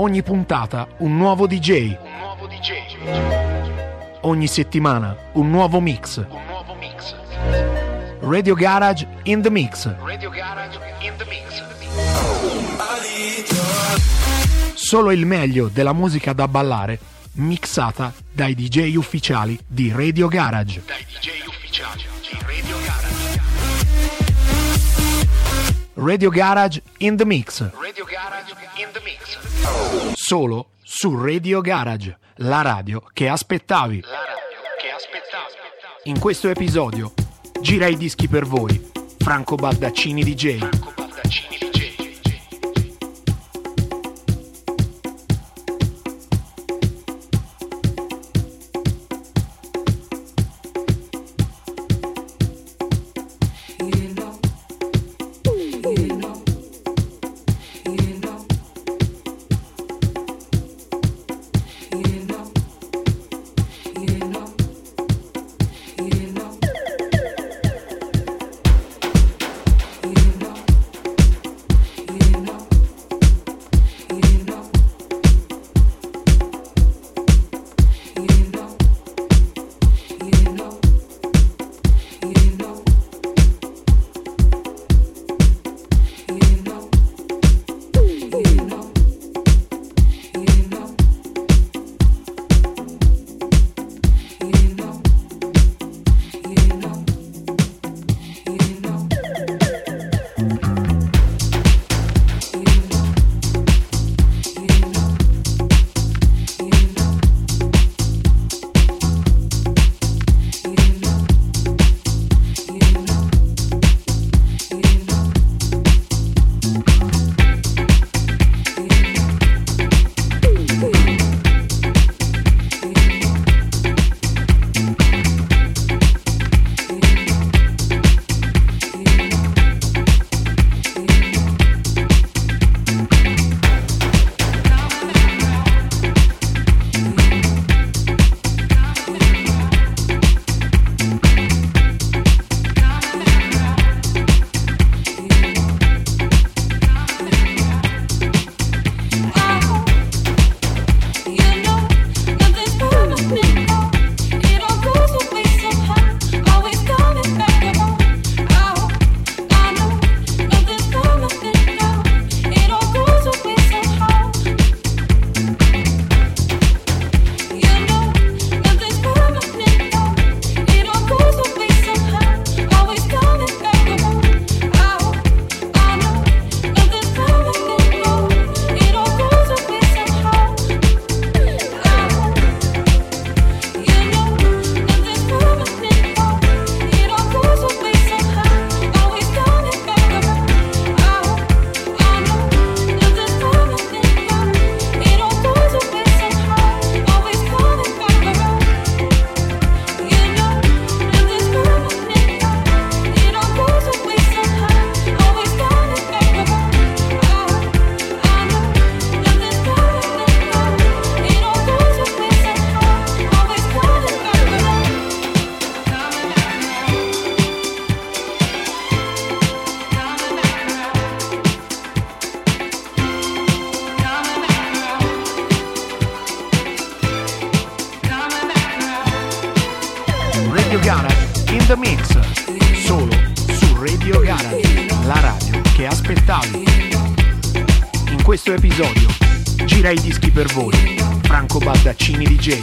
Ogni puntata un nuovo DJ. Ogni settimana un nuovo mix. Radio Garage in the Mix. Solo il meglio della musica da ballare, mixata dai DJ ufficiali di Radio Garage. Radio Garage in the Mix. Solo su Radio Garage, la radio che aspettavi. In questo episodio gira i dischi per voi, Franco Baldaccini DJ. Radio Garage in the Mix, solo su Radio Garage, la radio che aspettavi. In questo episodio gira i dischi per voi, Franco Baldaccini DJ.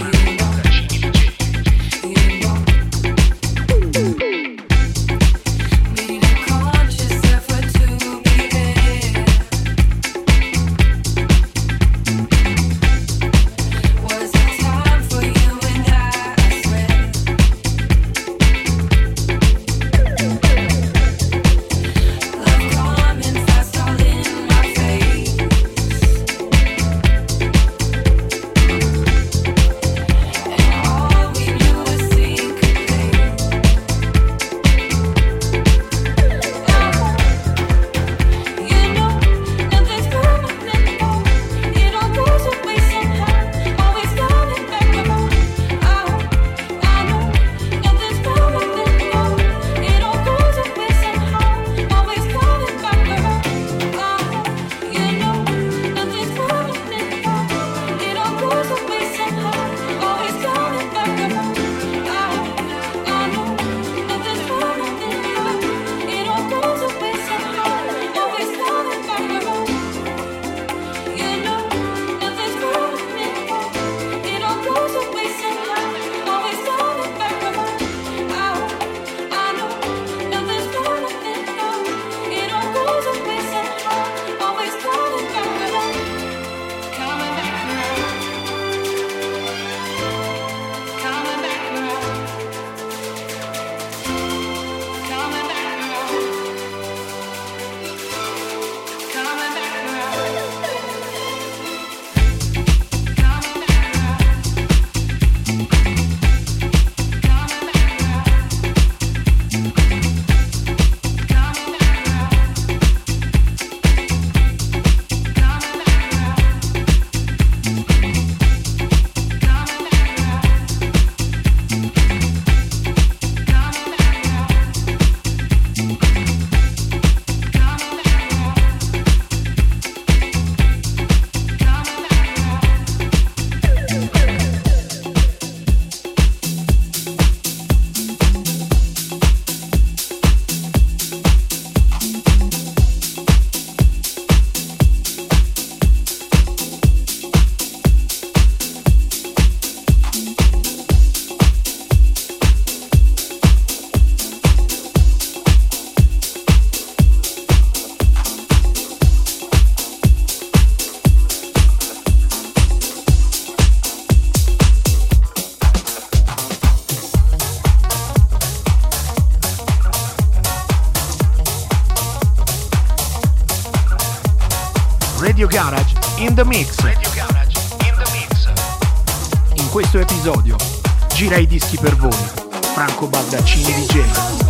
Radio Garage in the Mix. Radio Garage in the Mix. In questo episodio gira i dischi per voi Franco Baldaccini DJ.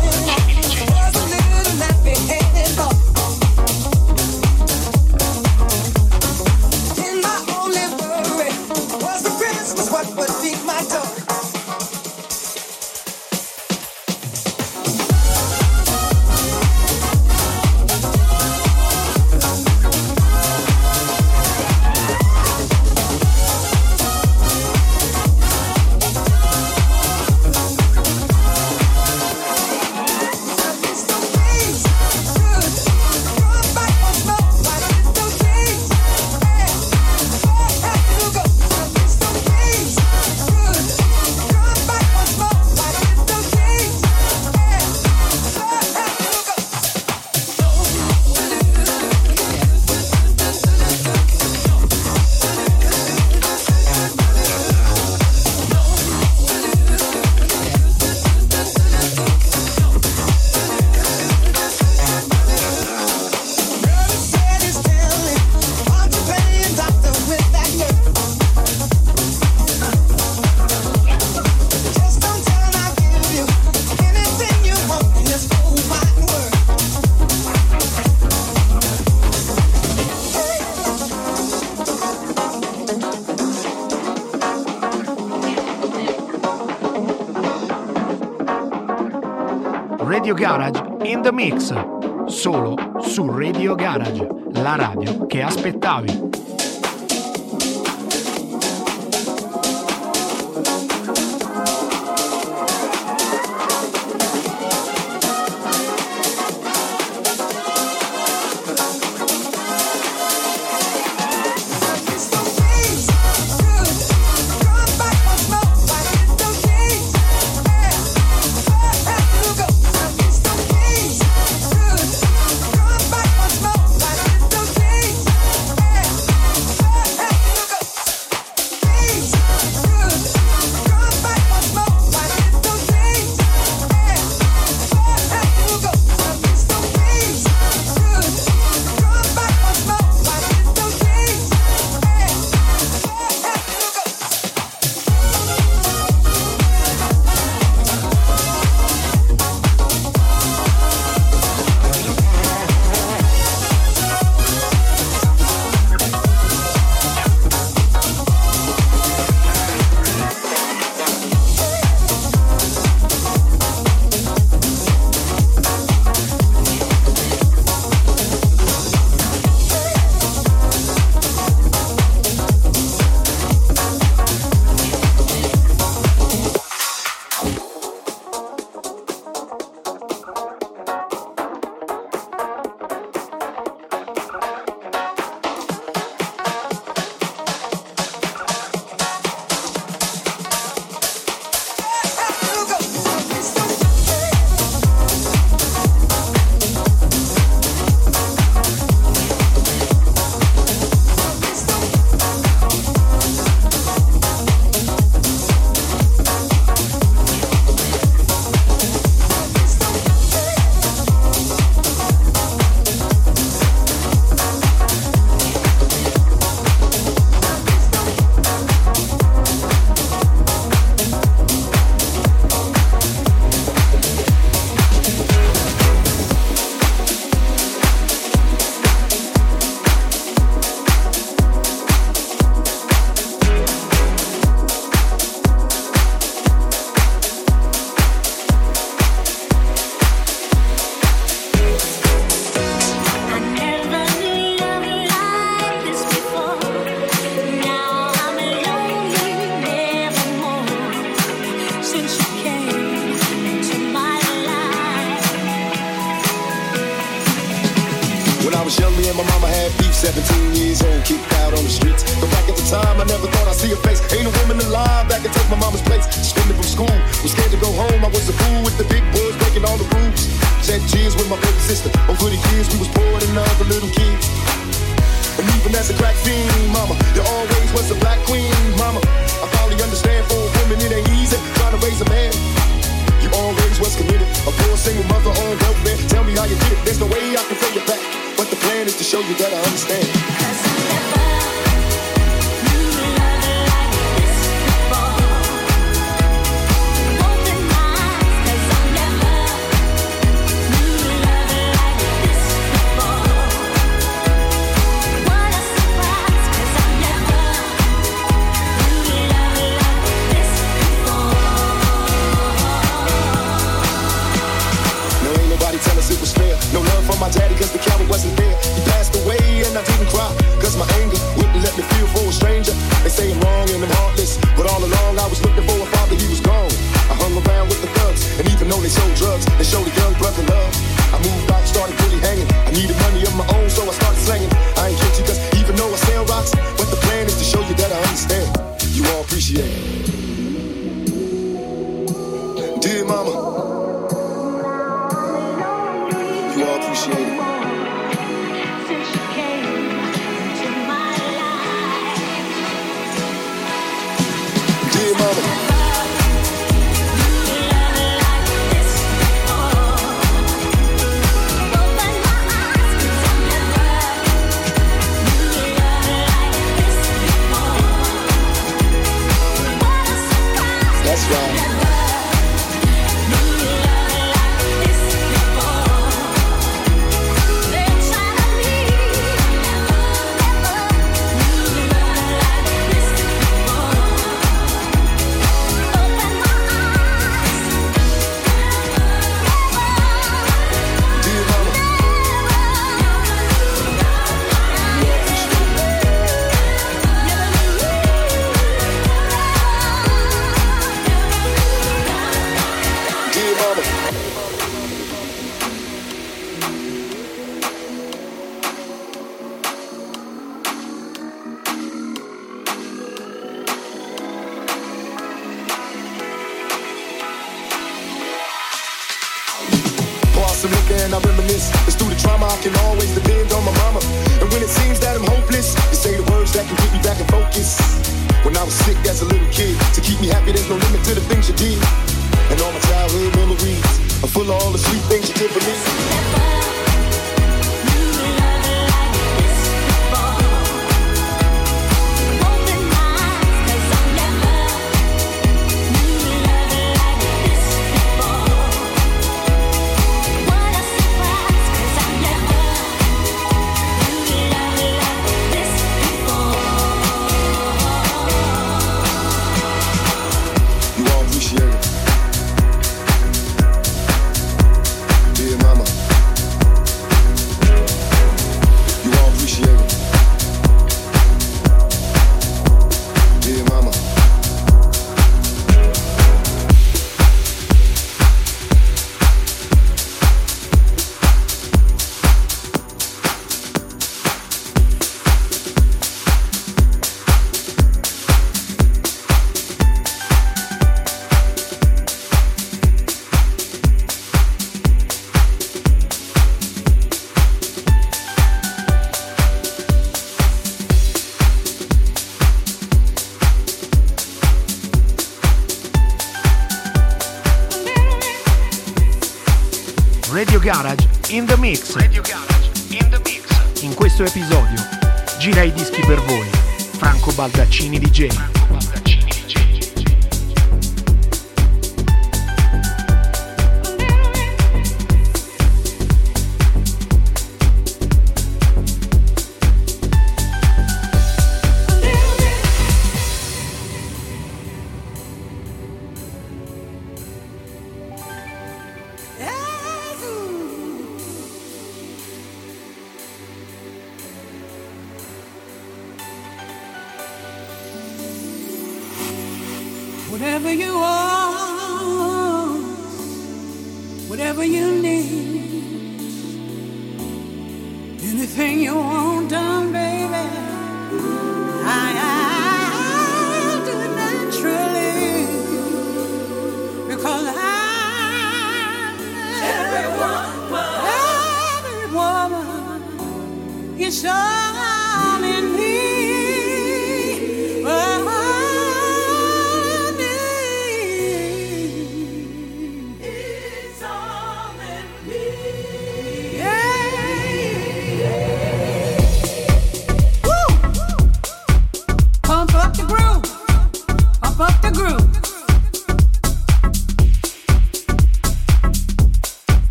Radio Garage in the Mix, solo su Radio Garage, la radio che aspettavi. was young, me and my mama had beef, 17 years old, kicked out on the streets. But back at the time, I never thought I'd see her face. Ain't a woman alive that could take my mama's place. Suspended from school, was scared to go home. I was a fool with the big boys, breaking all the rules. Shed tears with my baby sister. Over the years, we was poor than other little kids. And even as a crack fiend, mama, there always was a black queen, mama. I finally understand for a woman it ain't easy trying to raise a man. You always was committed, a poor single mother on welfare. Tell me how you did it, there's no way I can pay you back. But the plan is to show you that I understand. some liquor and I reminisce. It's through the trauma I can always depend on my mama. And when it seems that I'm hopeless, you say the words that can get me back in focus. When I was sick as a little kid, to keep me happy there's no limit to the things you did. And all my childhood memories are full of all the sweet things you did for me. Radio Garage in the Mix. Radio Garage in the Mix. In questo episodio gira i dischi per voi Franco Baldaccini DJ. Whatever you want, whatever you need, anything you want done, baby, I do it naturally, because every woman is all in me.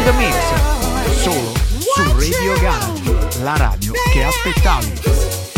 the Mix, solo su Radio Garage, la radio che aspettavi.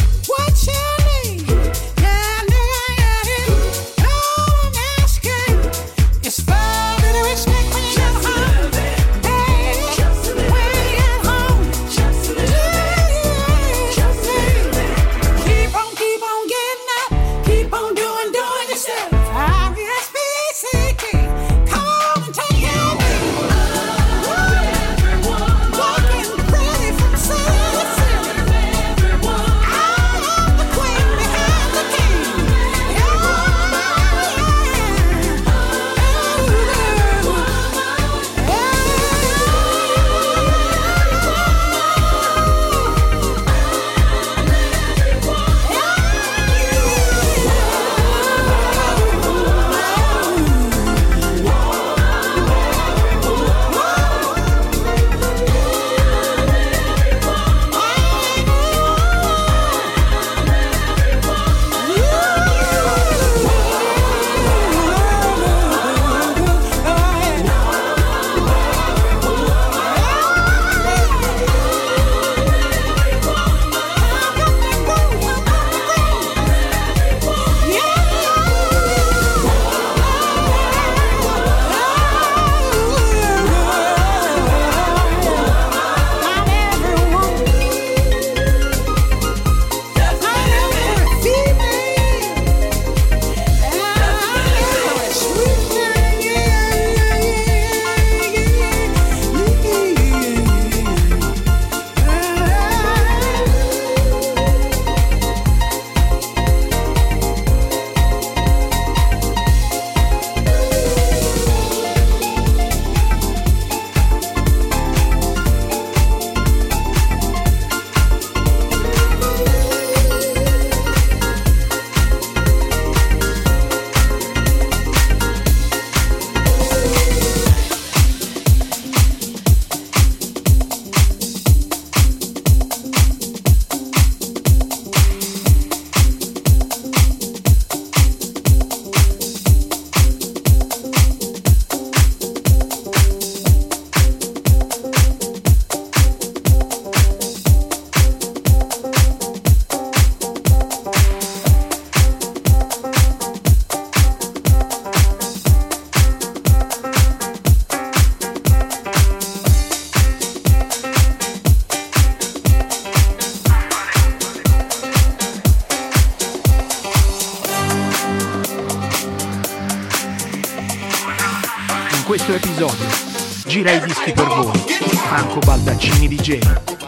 Questo episodio gira i dischi per voi, Franco Baldaccini DJ.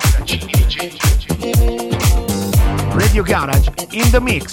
Radio Garage in the Mix.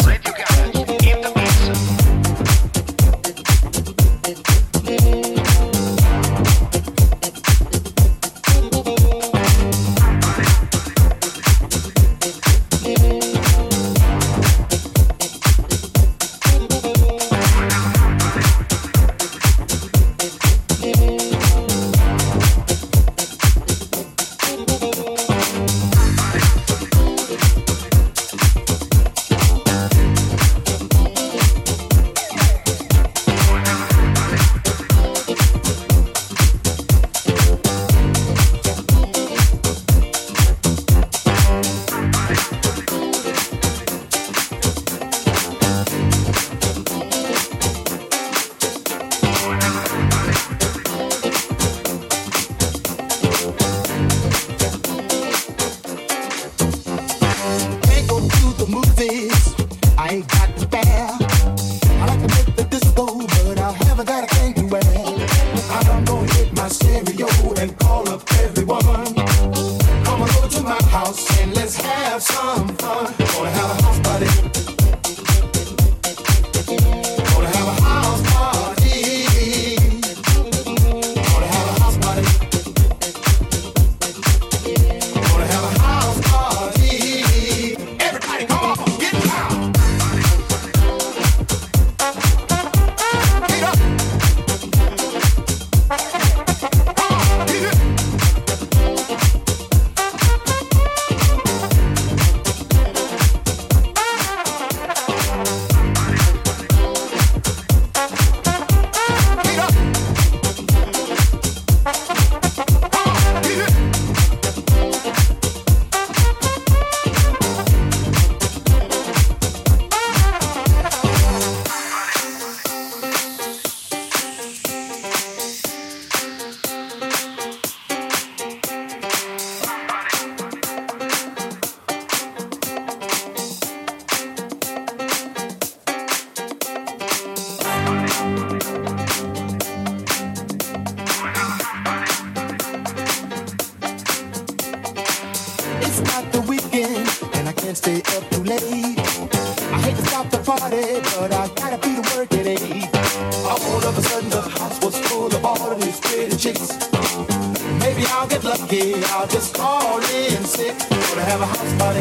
stay up too late. I hate to stop the party, but I gotta be to work at 8. All of a sudden the house was full of all of these pretty chicks. Maybe I'll get lucky, I'll just call in sick. Gonna have a house party.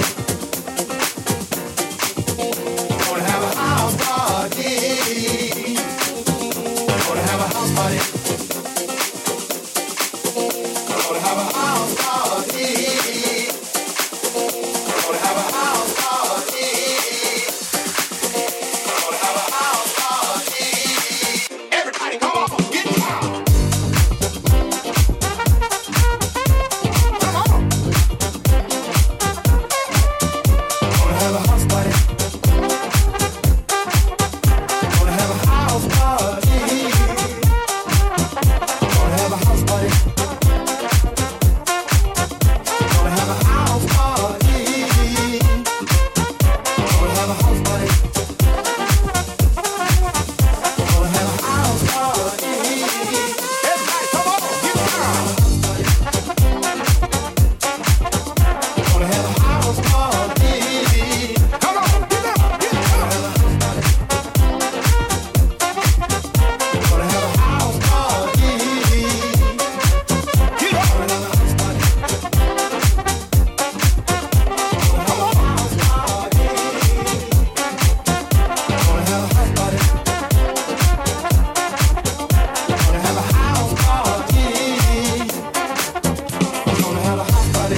Gonna have a house party. Gonna have a house party. Gonna have a house party. Gonna have a house party. Gonna have a house party. Everybody come on, get down. Come on. Gonna have a house party. Gonna have a house party. Gonna have a house party. Gonna have a house party. Gonna have a house party. Gonna have a house party. Everybody, come on, get down. Gonna have a house party. Come on, get up, get down. Gonna have a house party. Get up. Gonna have a house party. Gonna have a house party. Gonna have a house party. Gonna have a house party. Gonna have a house party.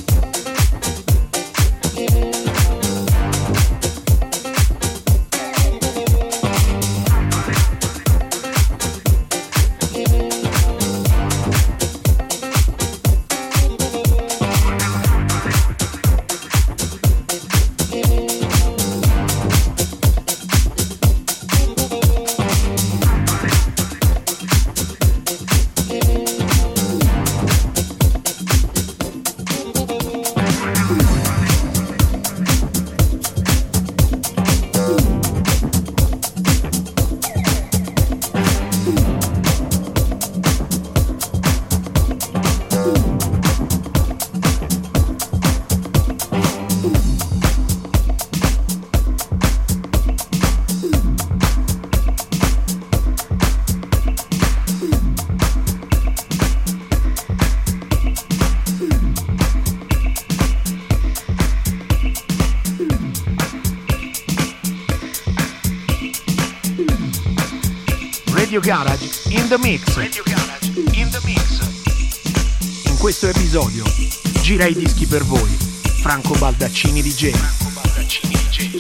Radio Garage in the mix. Radio Garage in the mix. In questo episodio gira i dischi per voi Franco Baldaccini DJ. Franco Baldaccini DJ.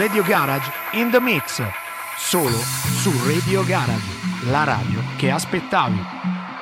Radio Garage in the Mix, solo su Radio Garage, la radio che aspettavi.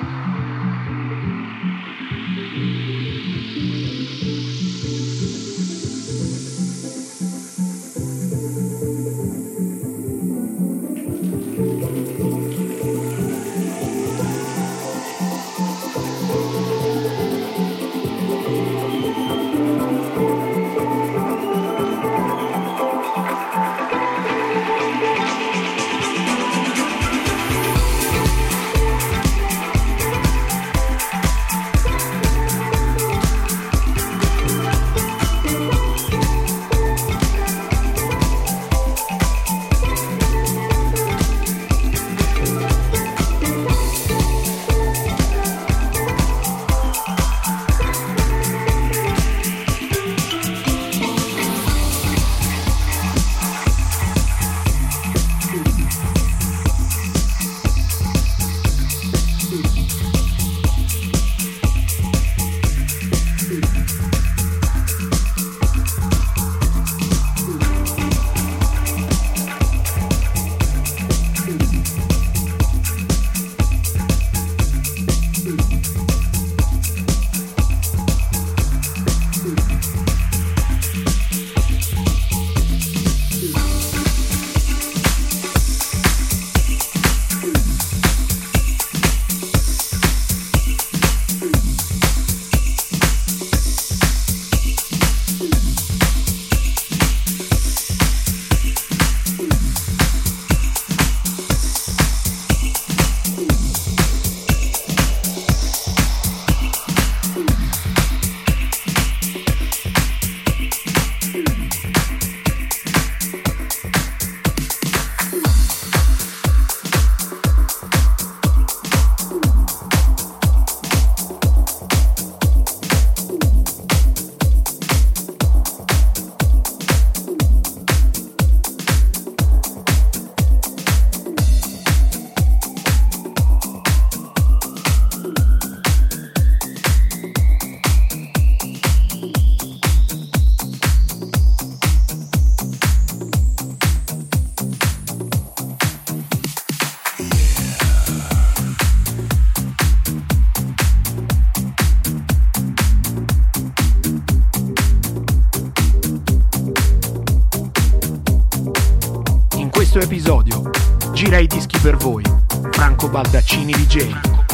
questo episodio gira i dischi per voi Franco Baldaccini DJ.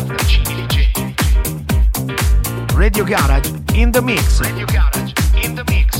Radio Garage in the Mix. Radio Garage in the Mix.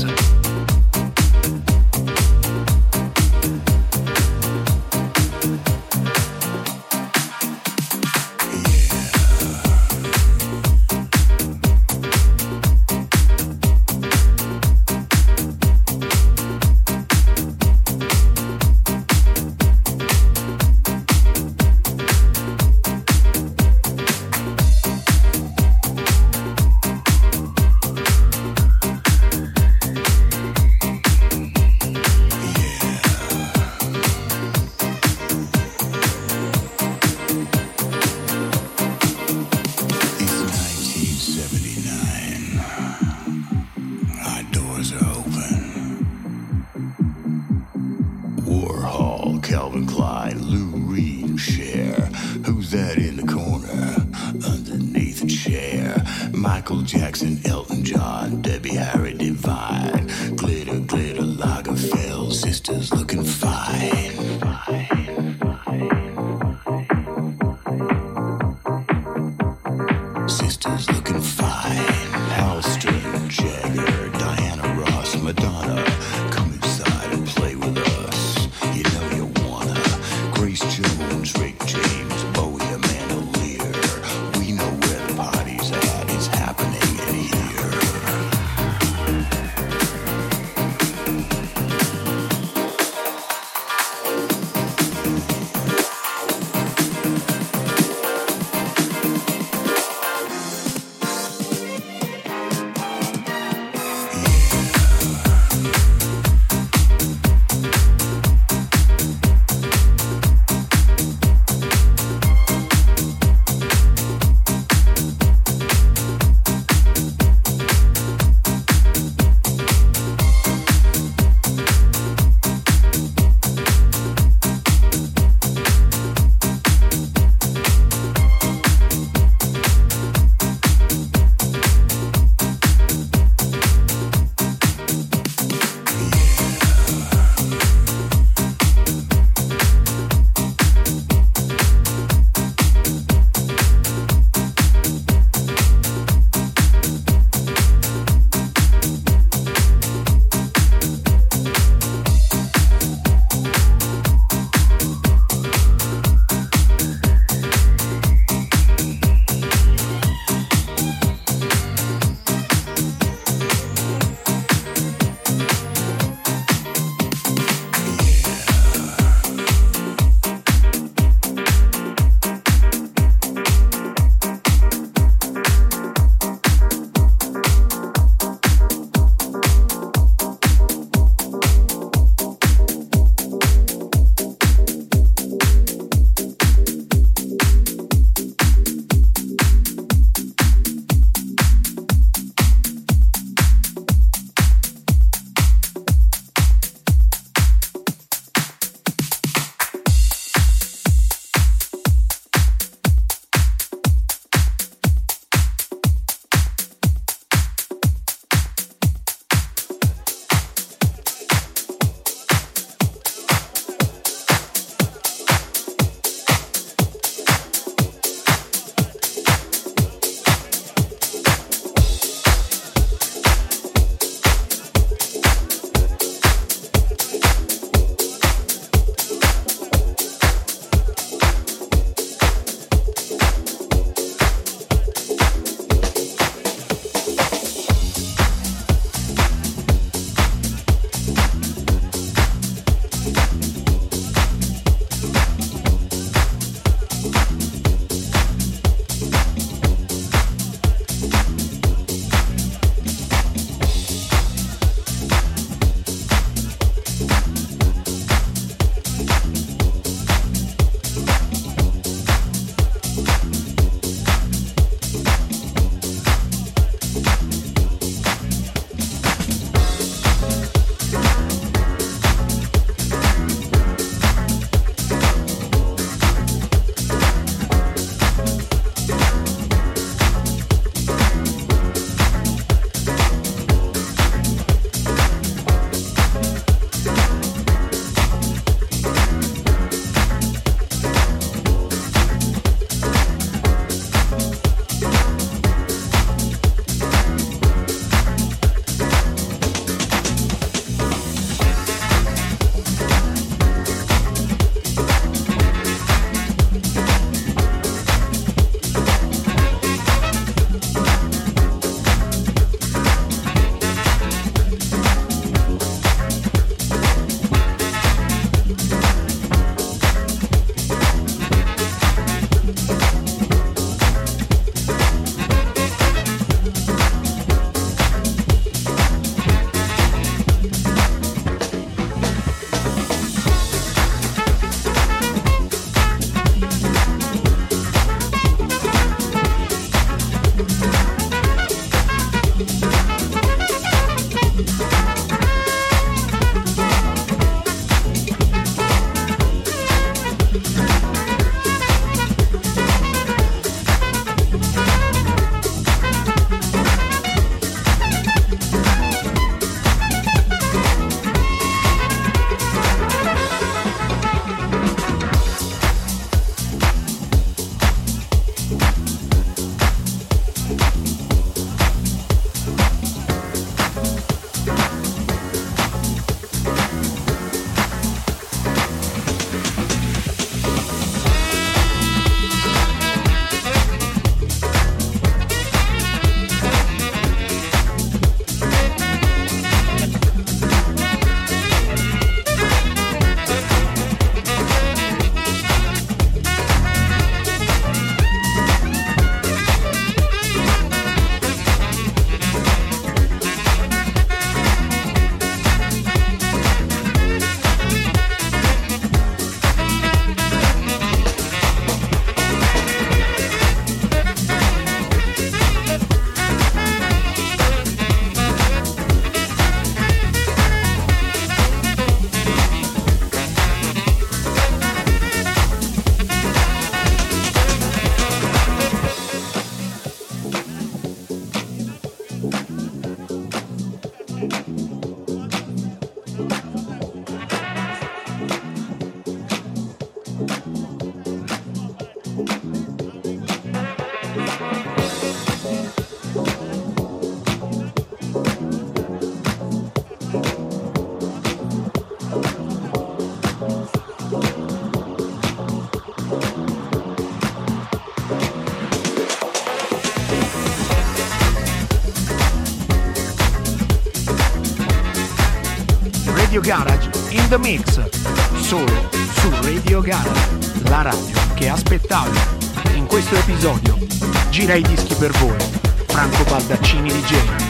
Radio Garage in the mix, solo su Radio Garage, la radio che aspettavi. In questo episodio gira i dischi per voi, Franco Baldaccini DJ.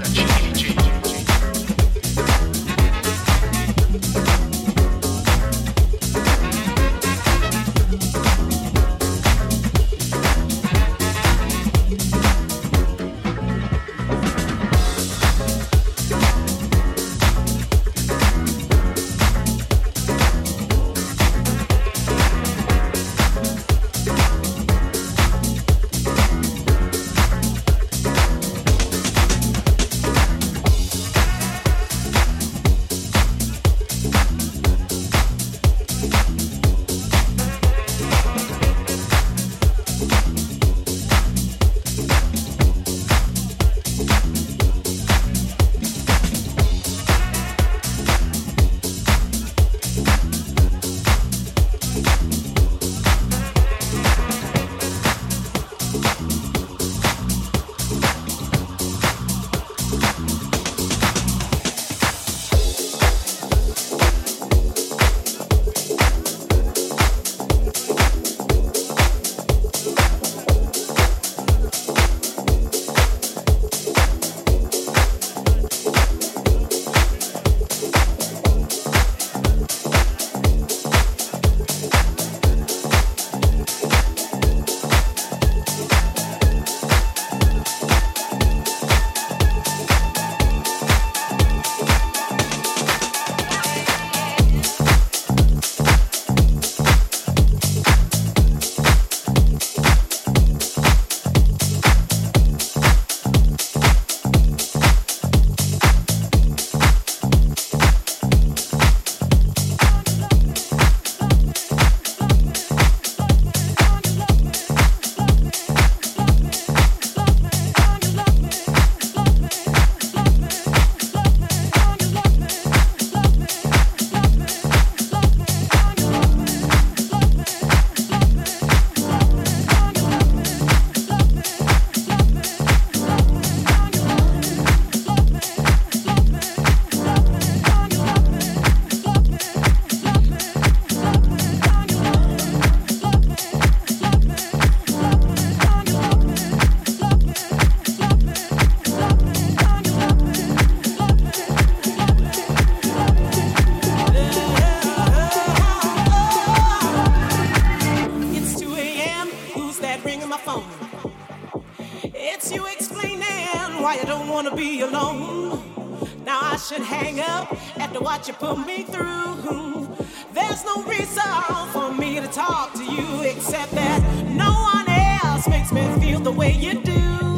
You put me through. There's no reason for me to talk to you except that no one else makes me feel the way you do.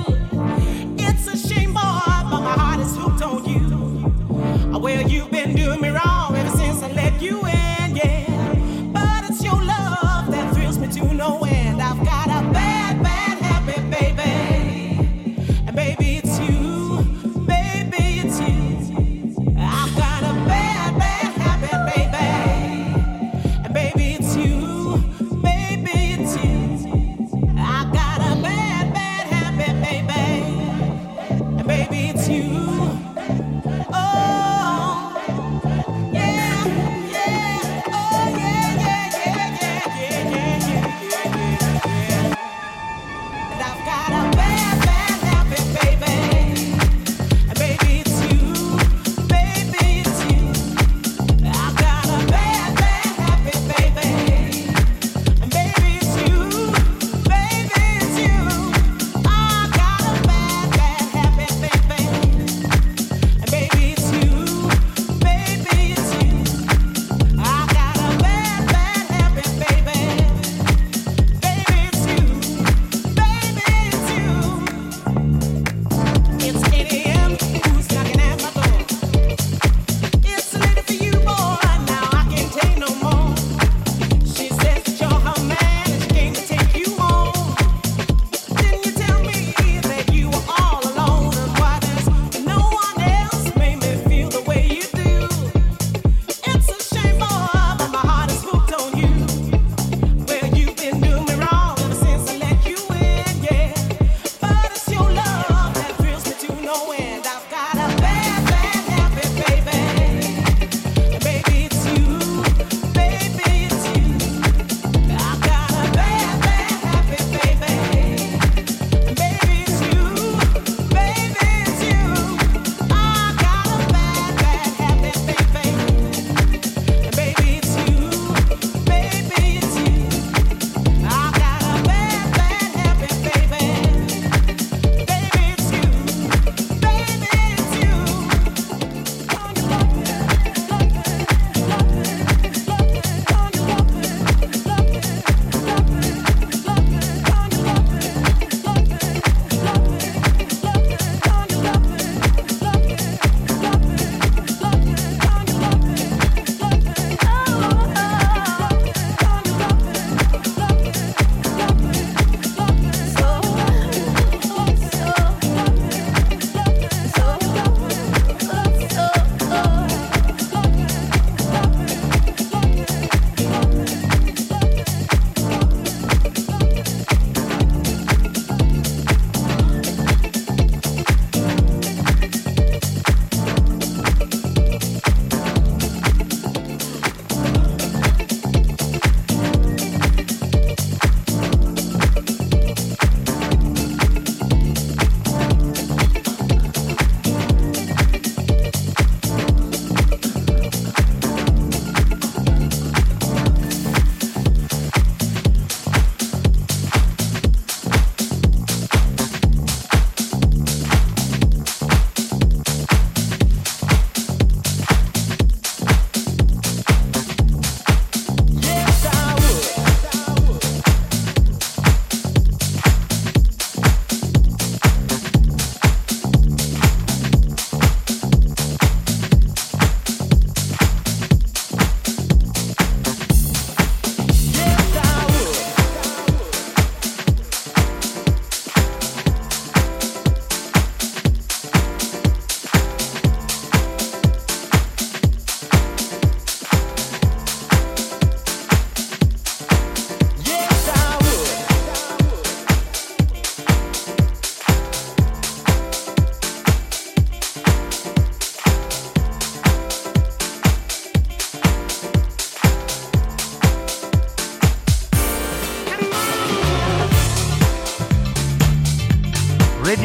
It's a shame, boy, but my heart is hooked on you. Well, you've been doing me wrong ever since I let you in, yeah. But it's your love that thrills me to no end. I've got a bad, bad habit, baby. And baby, it's you. Baby, it's you. I've got a bad, bad habit, baby. And baby, it's you. Baby, it's you. I've got a bad, bad habit.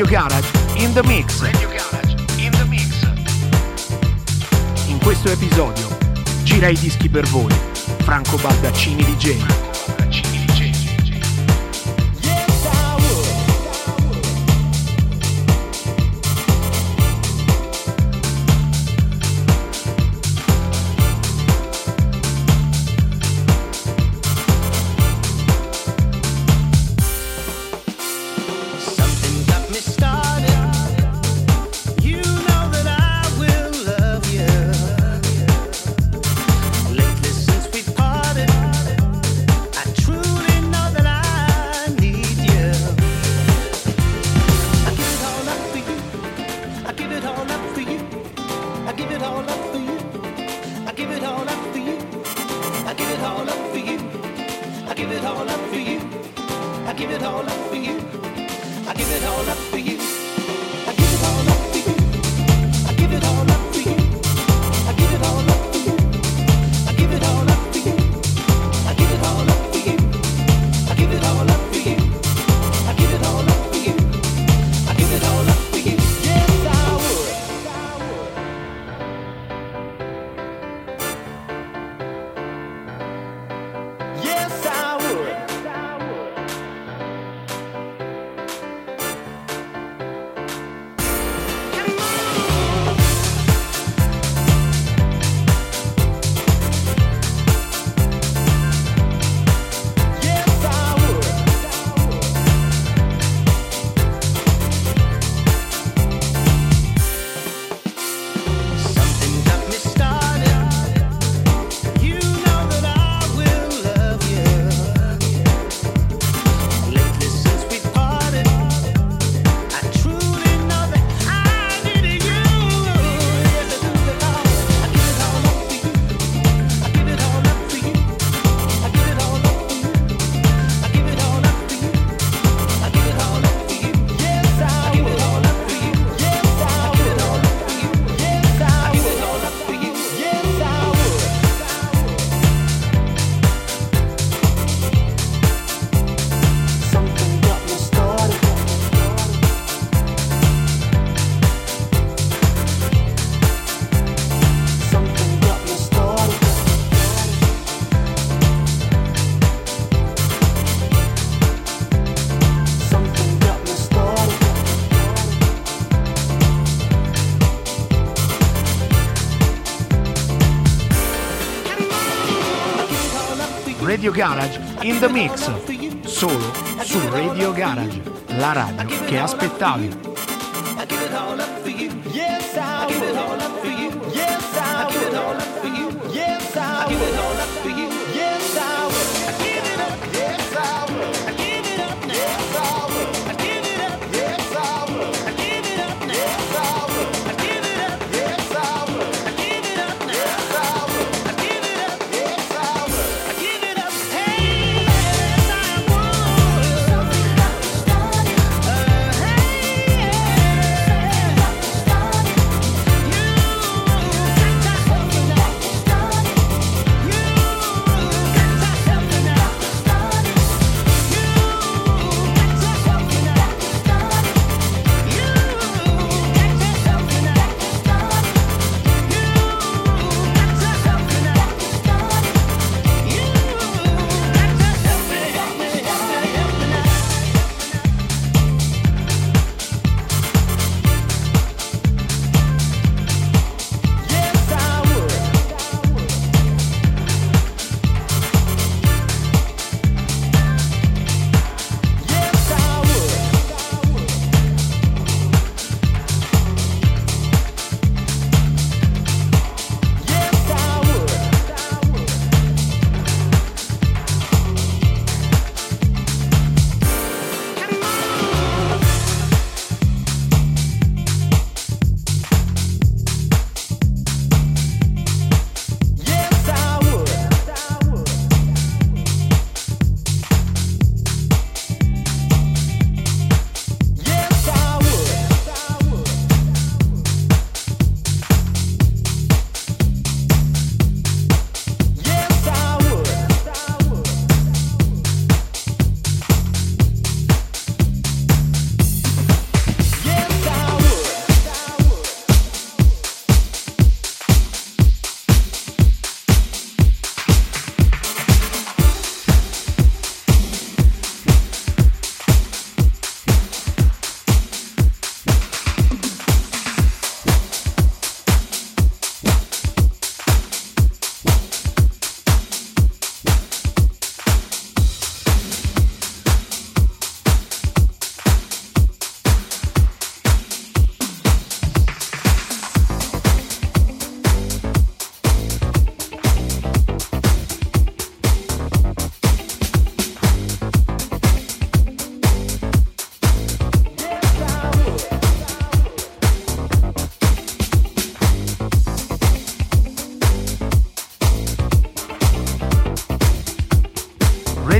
Radio Garage in the mix. Radio Garage in the mix. In questo episodio gira i dischi per voi Franco Baldaccini DJ. Radio Garage in the mix, solo su Radio Garage, la radio che aspettavi. Yeah.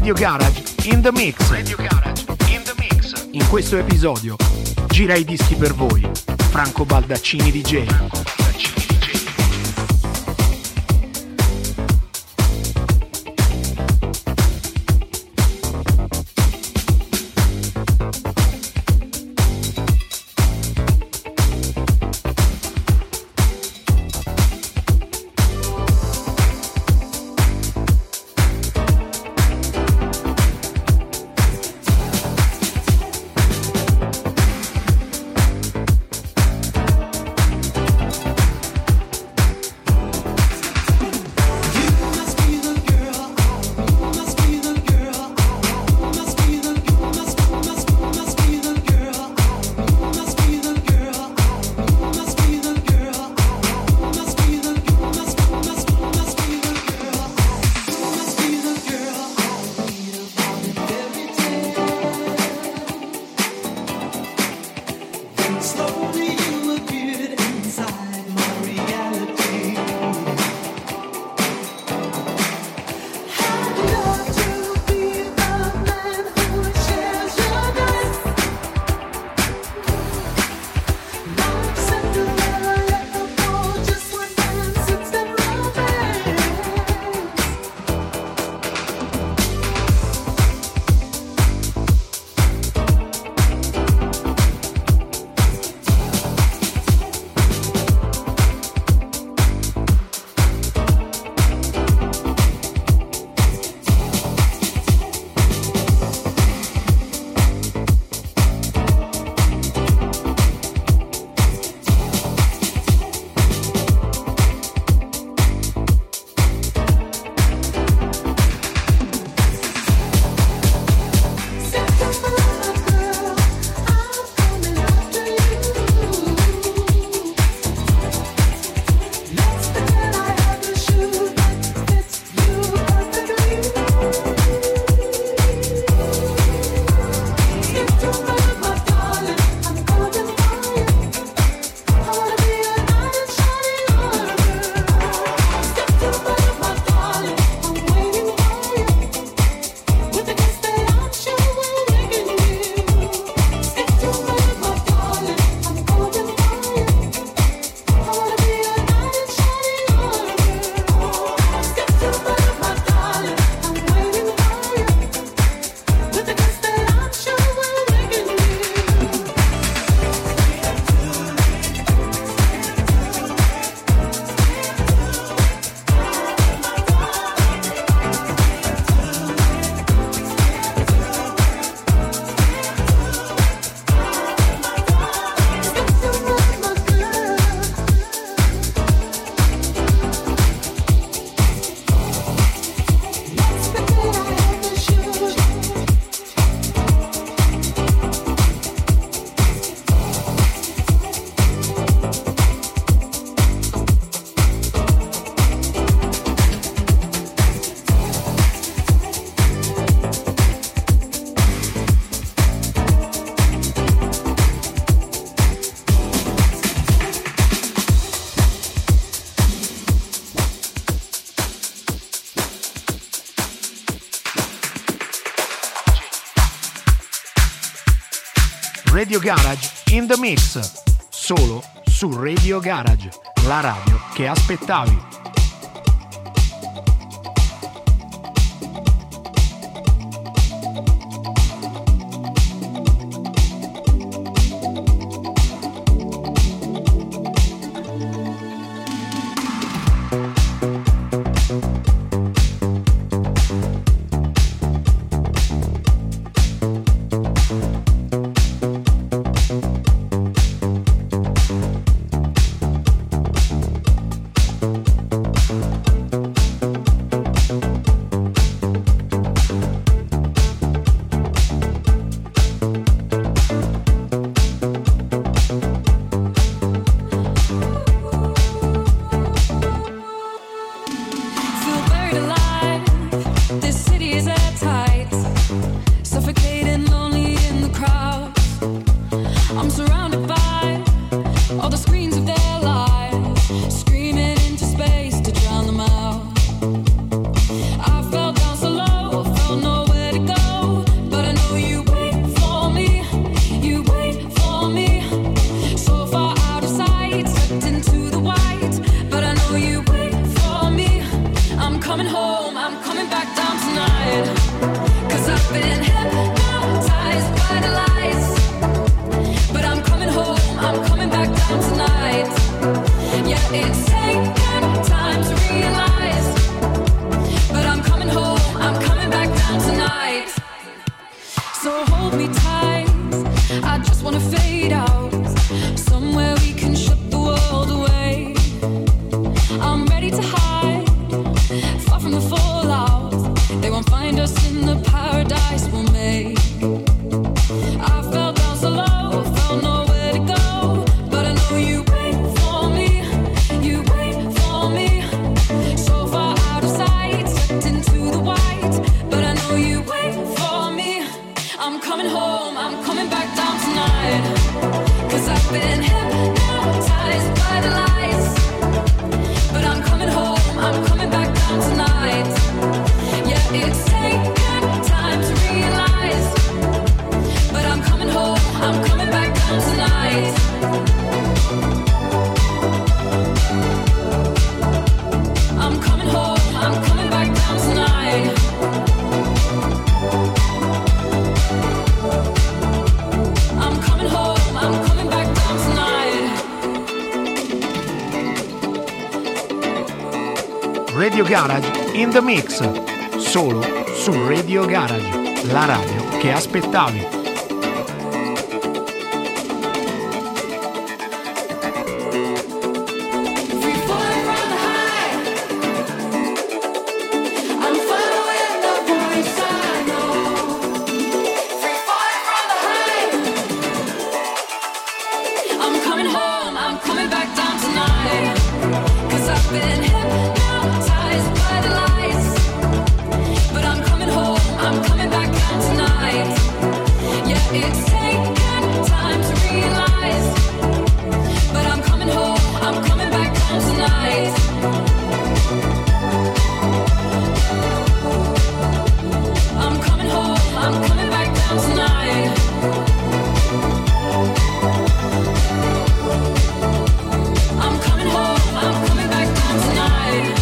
Radio Garage in the mix. Radio Garage in the mix. In questo episodio gira i dischi per voi Franco Baldaccini DJ. Radio Garage in the mix, solo su Radio Garage, la radio che aspettavi. it's taken time to realize, but I'm coming home, I'm coming back down tonight. So hold me tight, I just wanna fade out, somewhere we can shut the world away. I'm ready to hide, far from the fallout. They won't find us in the paradise we'll make. I fell down so low, felt nowhere to go, but I know you wait for me, you wait for me. So far out of sight, sucked into the white, but I know you wait for me. I'm coming home, I'm coming back down tonight, 'cause I've been hypnotized by the lights. But I'm coming home, I'm coming back down tonight. Yeah, it's taken time to realize, but I'm coming home, I'm coming back down tonight. I'm coming home, I'm coming back down tonight. I'm coming home, I'm coming back down tonight. Radio Garage in the mix, solo su Radio Garage, la radio che aspettavi. Free falling from the high, I'm following the voice I know. Free falling from the high, I'm coming home, I'm coming back down tonight, 'cause I've been hypnotized by the lights. But I'm coming home, I'm coming back down tonight. Yeah, it's taken time to realize, but I'm coming home, I'm coming back down tonight. I'm coming home, I'm coming back down tonight. I'm coming home, I'm coming back down tonight.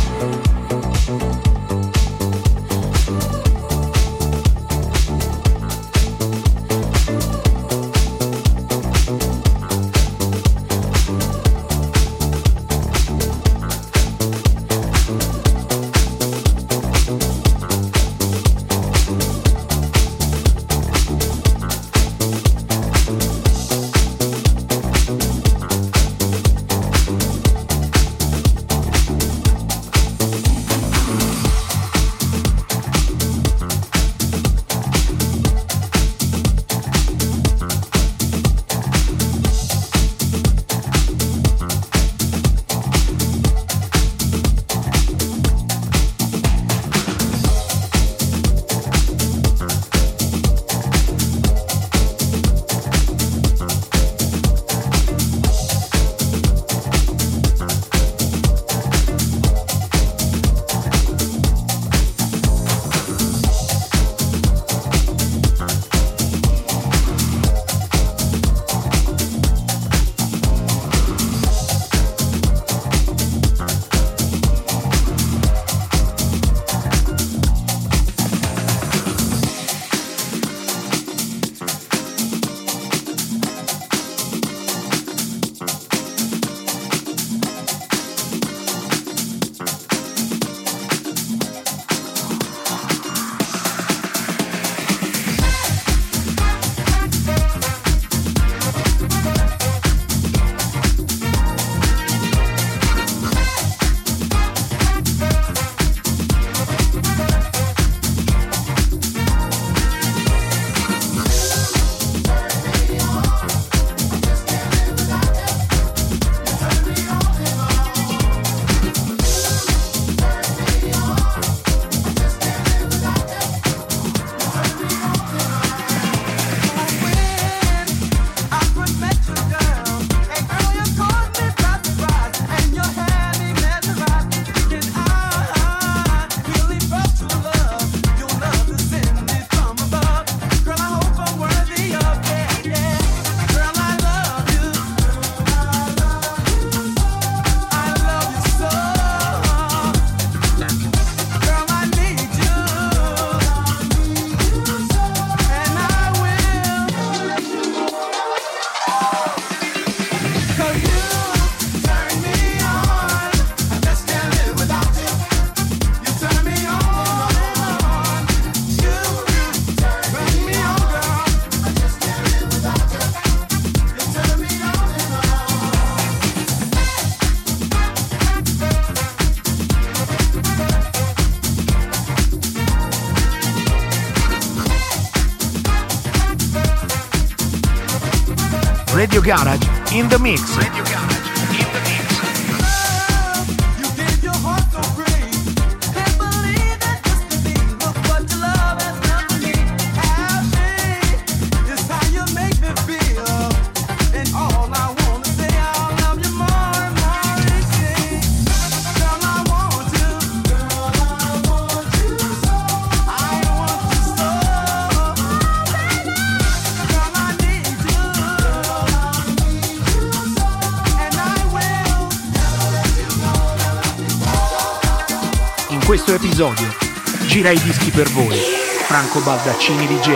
Radio Garage in the mix. Radio Garage in the mix. In questo episodio gira i dischi per voi Franco Baldaccini DJ.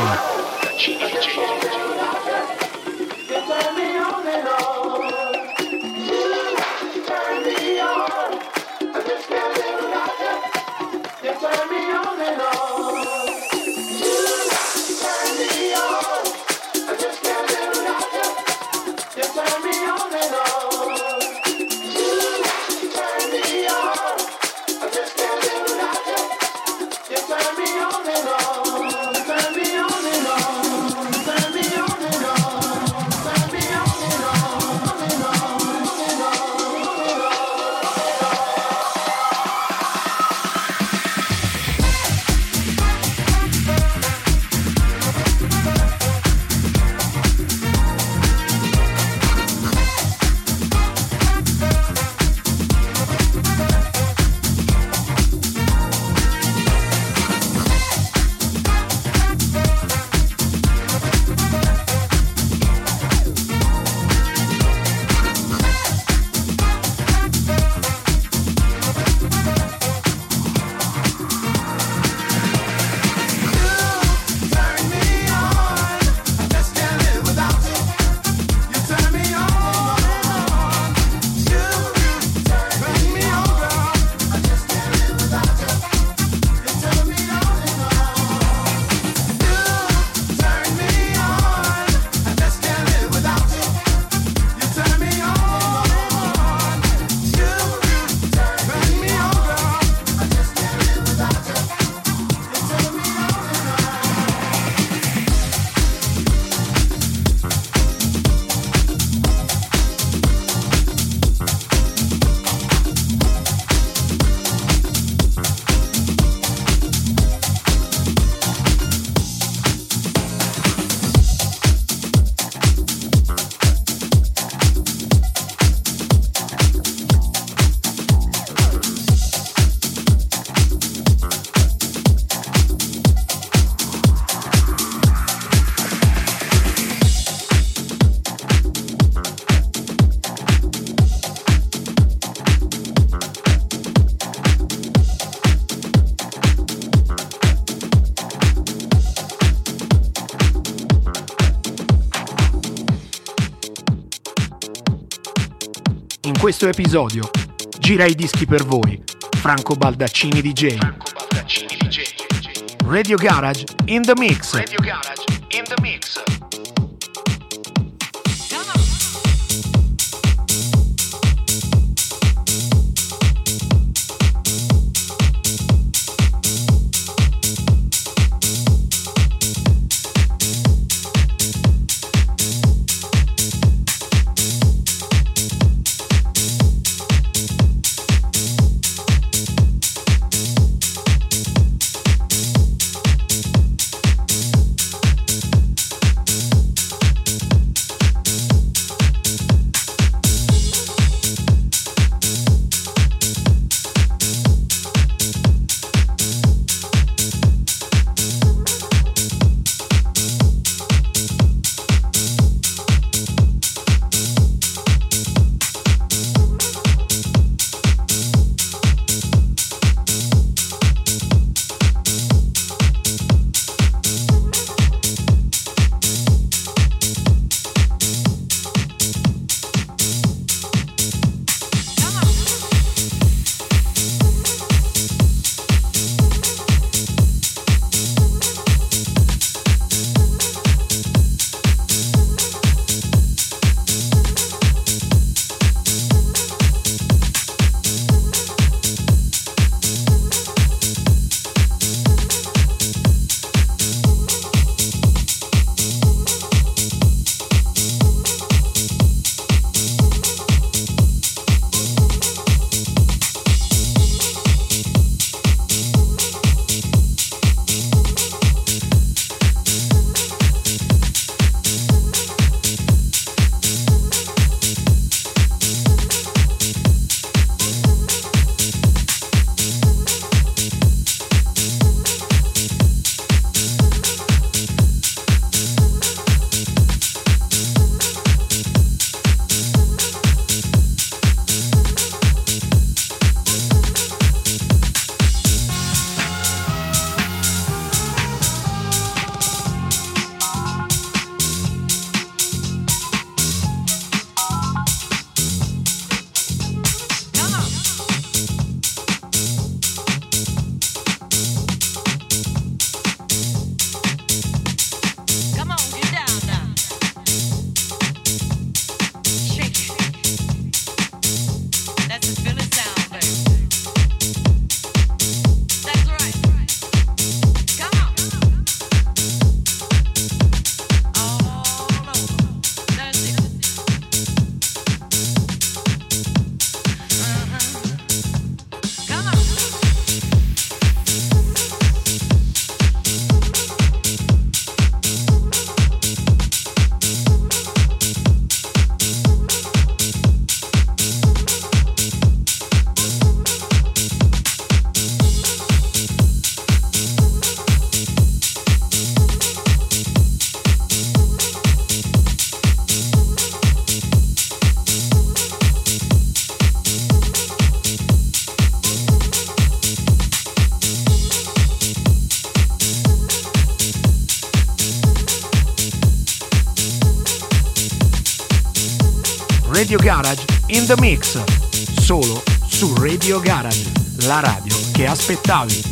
In questo episodio gira i dischi per voi Franco Baldaccini DJ. Radio Garage in the mix. Radio Garage in the mix. Radio Garage in the Mix, solo su Radio Garage, la radio che aspettavi.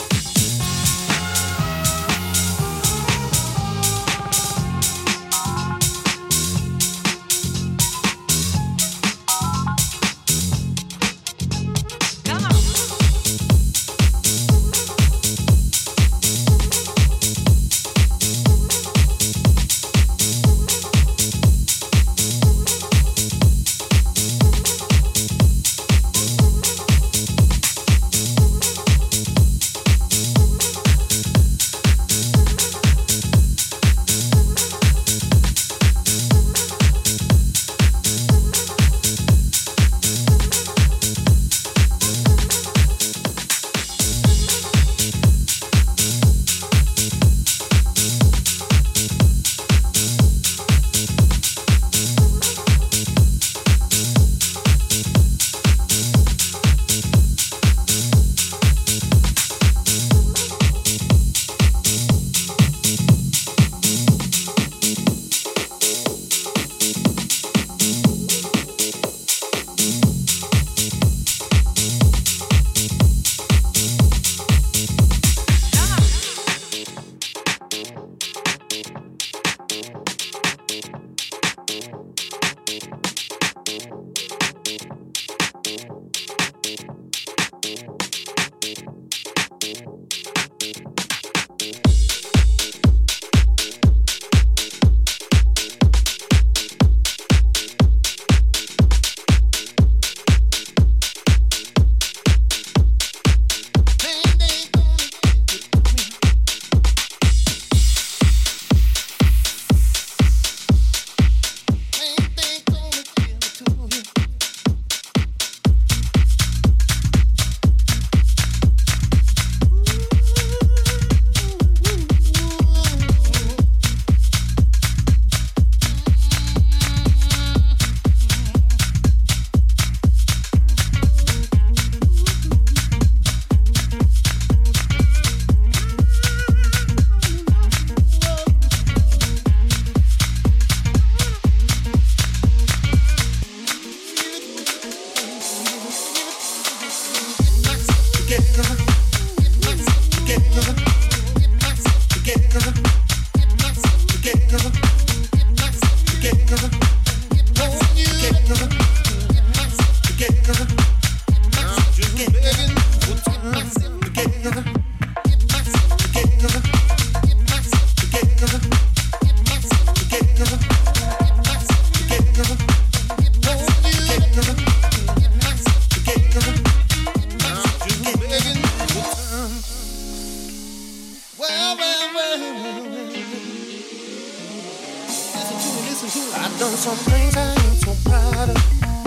I've done some things I ain't so proud of,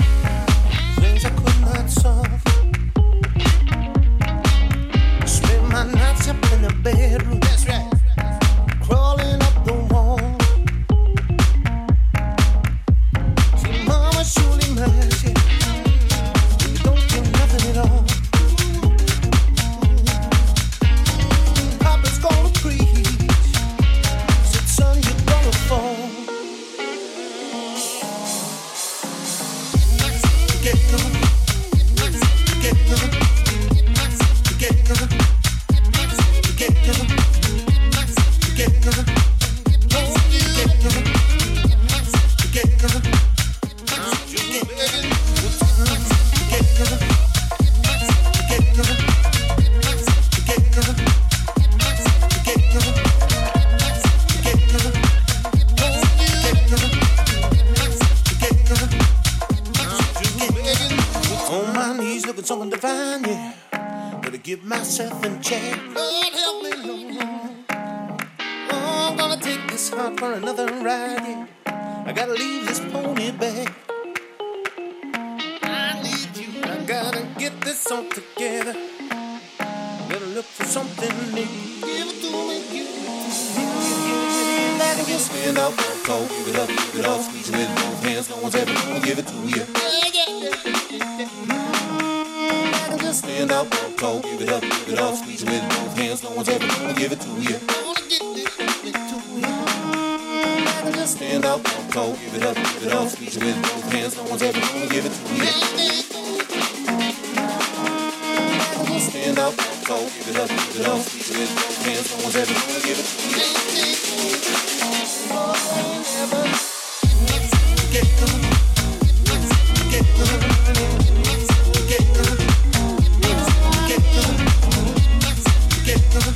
things I could not solve. Spend my nights up in the bedroom, that's right, crawling up the wall. See, mama surely mad, you don't get nothing at all. Papa's gonna preach, said son, you're gonna fall. Something divine, yeah. Gotta get myself in check. Lord help me, Lord. Oh, I'm gonna take this heart for another ride, yeah. I gotta leave this pony back. I need you. I gotta get this all together. Gotta look for something new. Give it to me, give it to me. That and just stand up, cold, give it up, give it off, squeeze it with both hands. No one's ever gonna give it to you. Stand up, cold, give it up, give it off, squeeze it with both hands. No one's ever gonna give it to you. stand up, walk tall, give it up, squeeze it with both hands, no one's ever gonna give it to me. Stand up, walk tall, give it up, squeeze it with both hands, no one's ever gonna give it to me. Get them, get them, get them, get them, get them.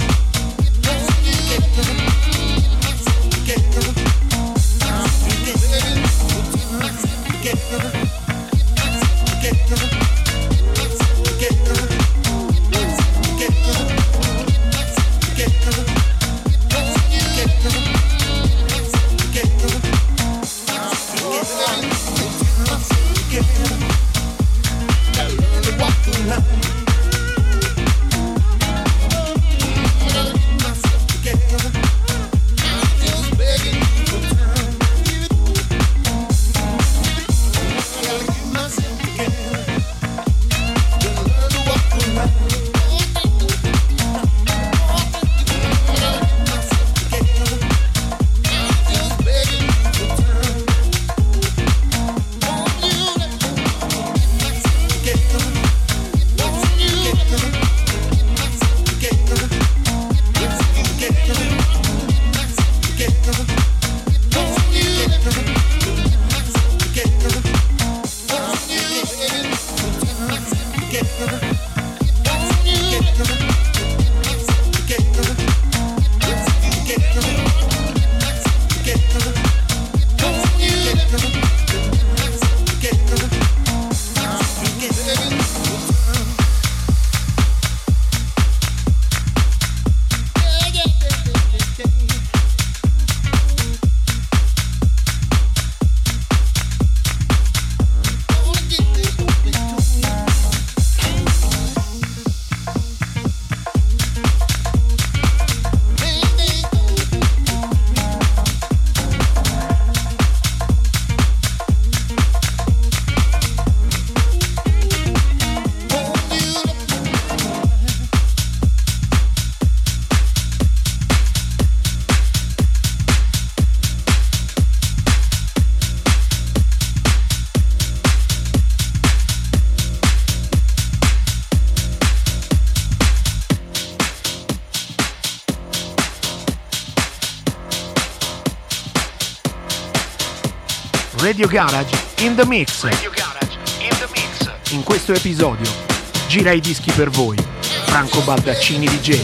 Radio Garage in the Mix. Radio Garage in the Mix. In questo episodio gira i dischi per voi Franco Baldaccini DJ.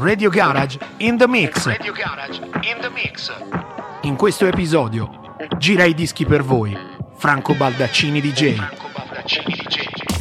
Radio Garage in the mix. Radio Garage in the mix. In questo episodio gira i dischi per voi Franco Baldaccini DJ. Franco Baldaccini DJ.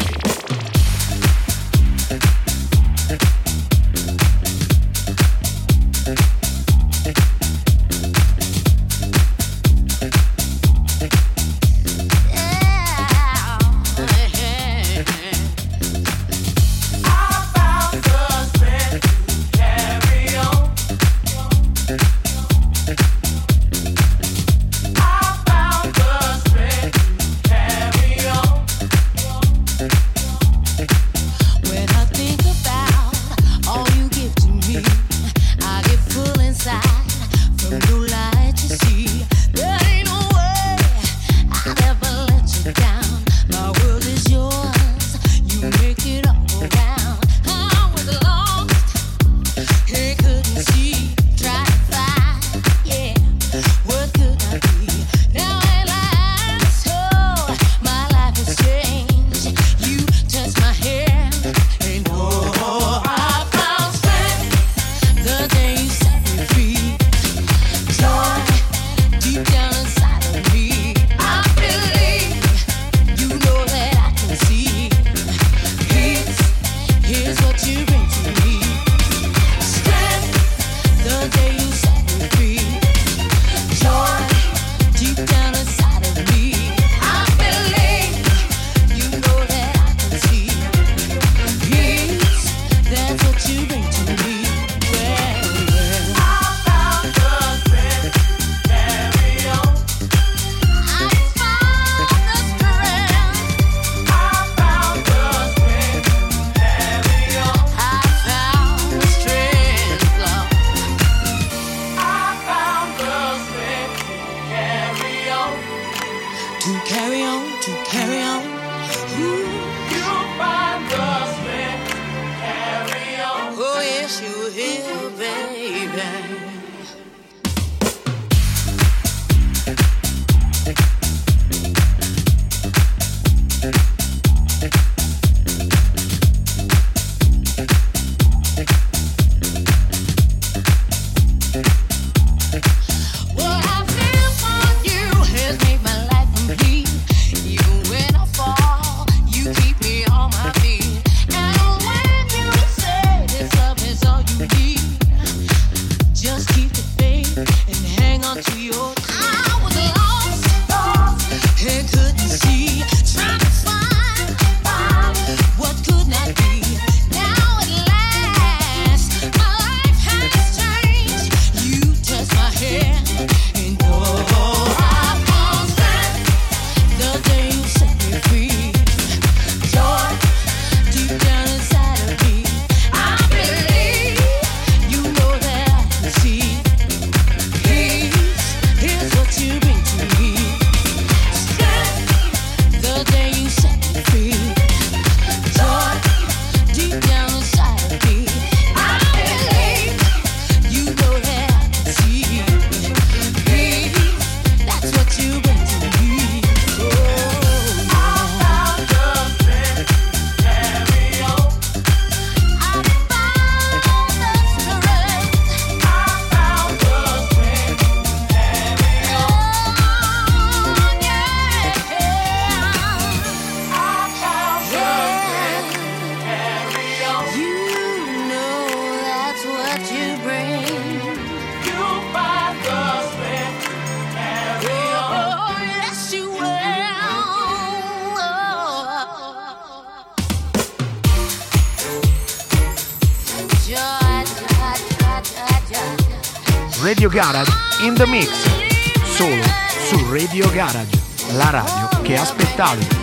Radio Garage in the mix, solo su Radio Garage, la radio che aspettavi.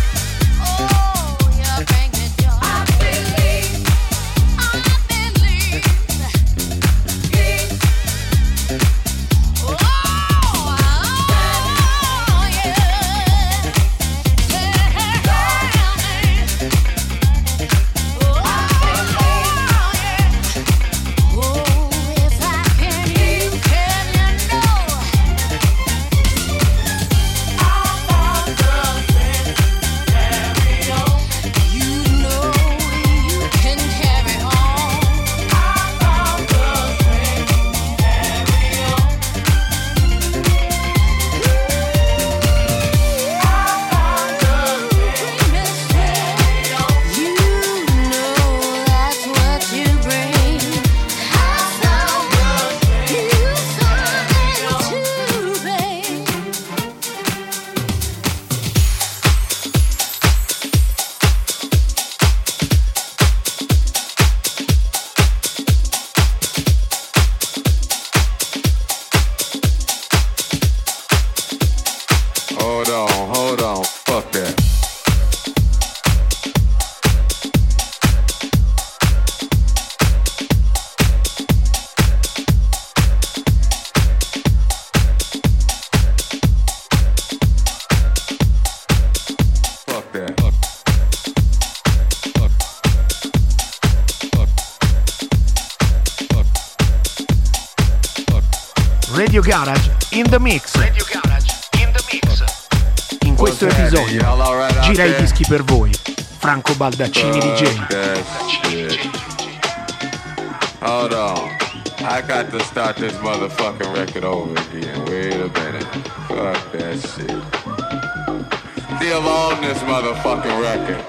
I believe Radio Garage in the mix. Radio Garage in the mix. In questo episodio gira i dischi per voi Franco Baldaccini DJ. Hold on, I got to start this motherfucking record over again. Wait a minute, fuck that shit. Still on this motherfucking record.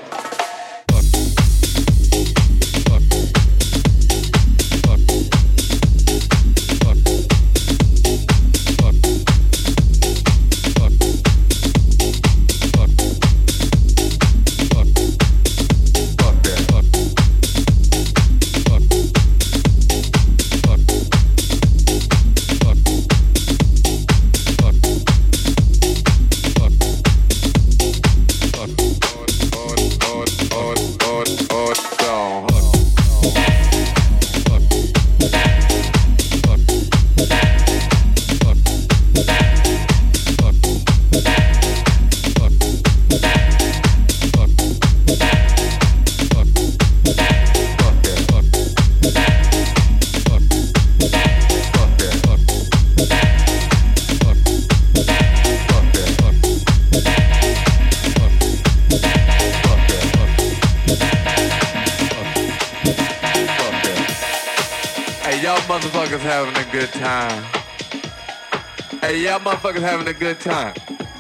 Motherfuckers having a good time. Hey, y'all motherfuckers having a good time.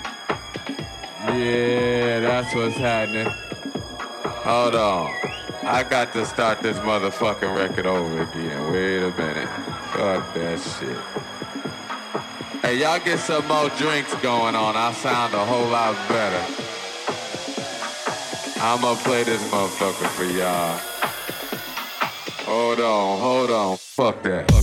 Yeah, that's what's happening. Hold on. I got to start this motherfucking record over again. Wait a minute. Fuck that shit. Hey, y'all get some more drinks going on. I'll sound a whole lot better. I'ma play this motherfucker for y'all. Hold on. Fuck that.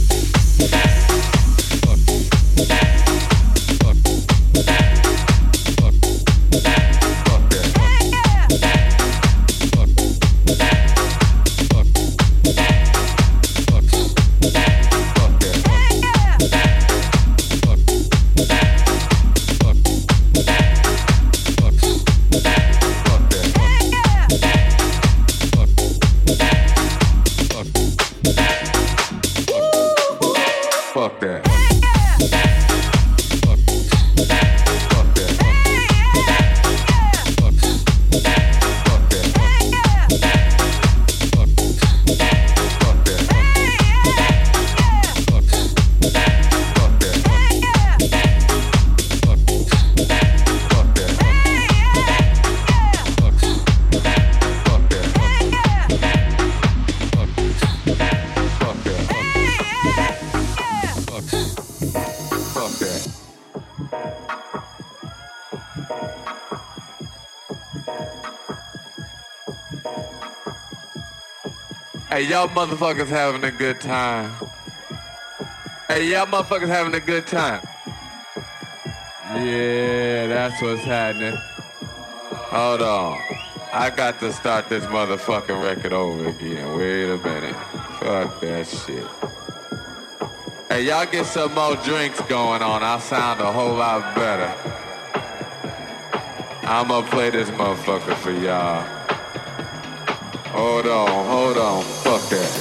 Hey, y'all motherfuckers having a good time. Hey, y'all motherfuckers having a good time. Yeah, that's what's happening. Hold on. I got to start this motherfucking record over again. Wait a minute. Fuck that shit. Hey, y'all get some more drinks going on. I'll sound a whole lot better. I'ma play this motherfucker for y'all. Hold on. Fuck that.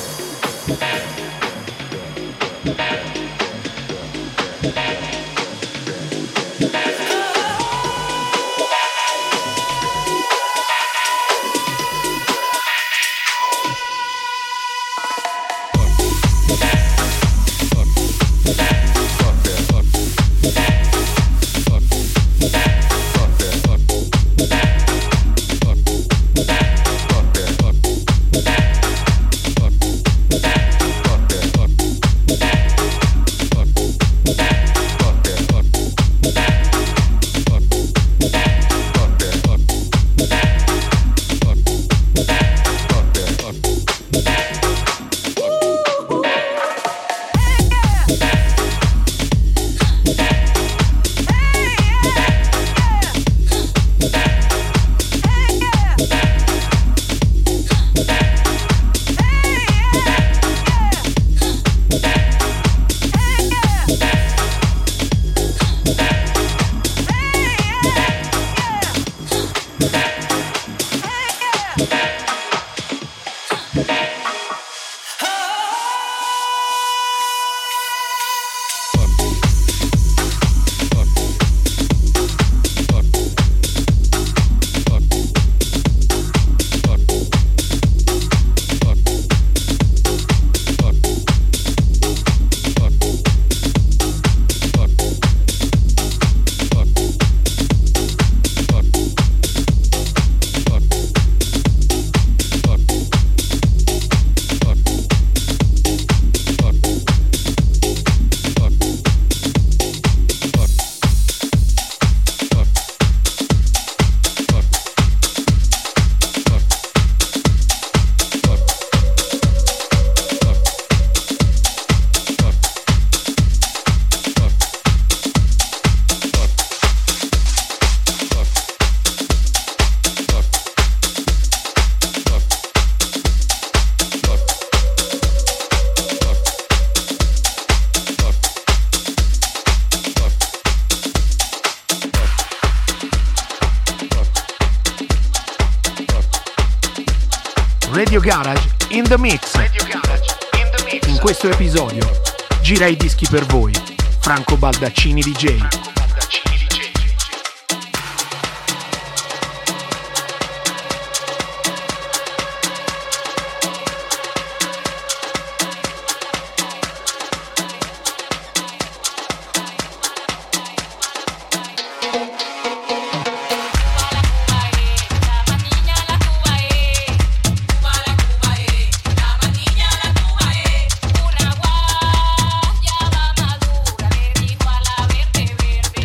Radio Garage in the Mix. In questo episodio gira i dischi per voi, Franco Baldaccini DJ. Una guayaba madura le dijo a la verde verde.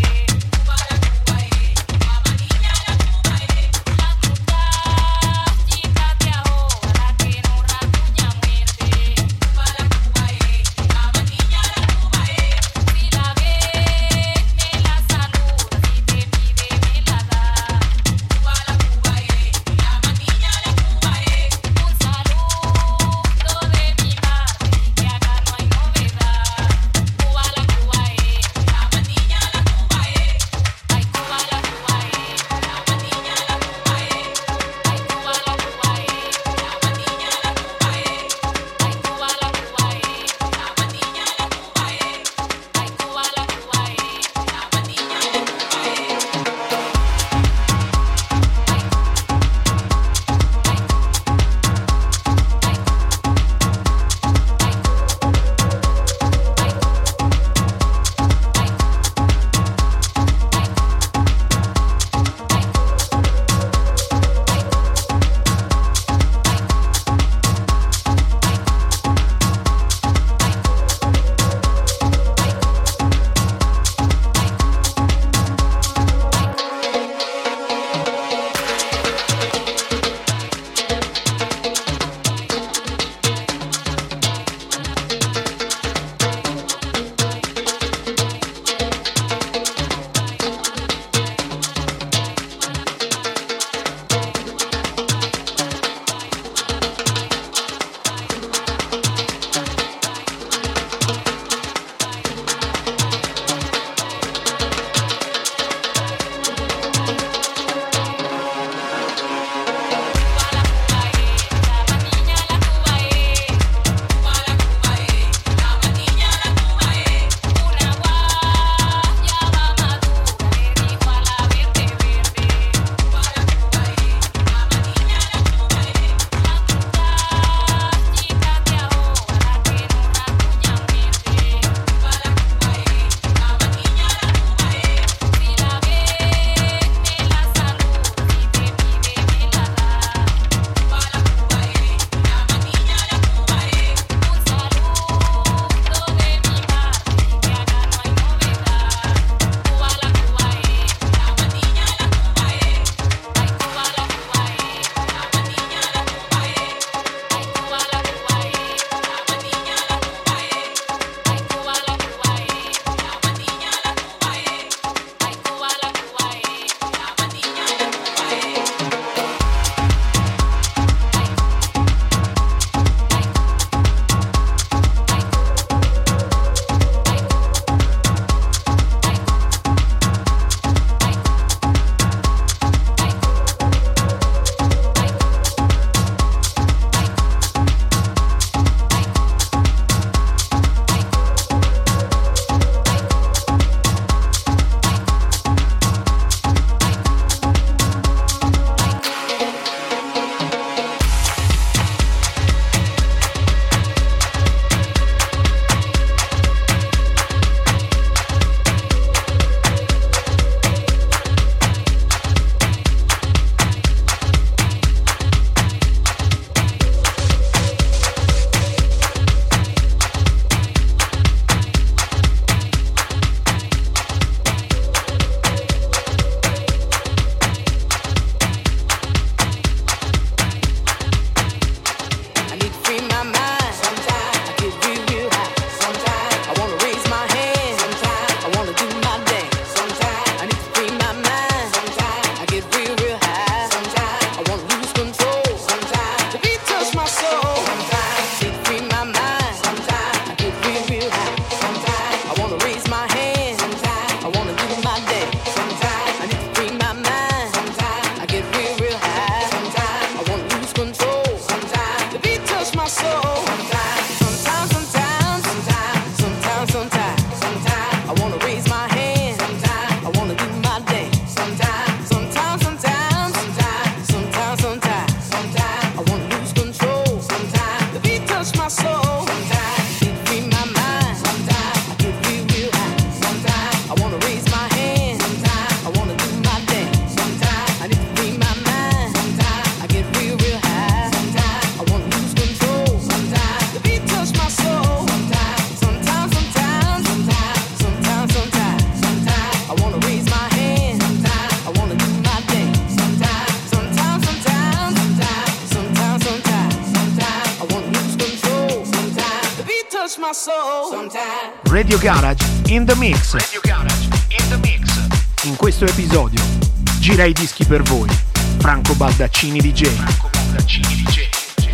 touch my soul sometimes. Radio Garage in the mix. Radio Garage in the mix. In questo episodio gira i dischi per voi Franco Baldaccini DJ. Franco Baldaccini DJ.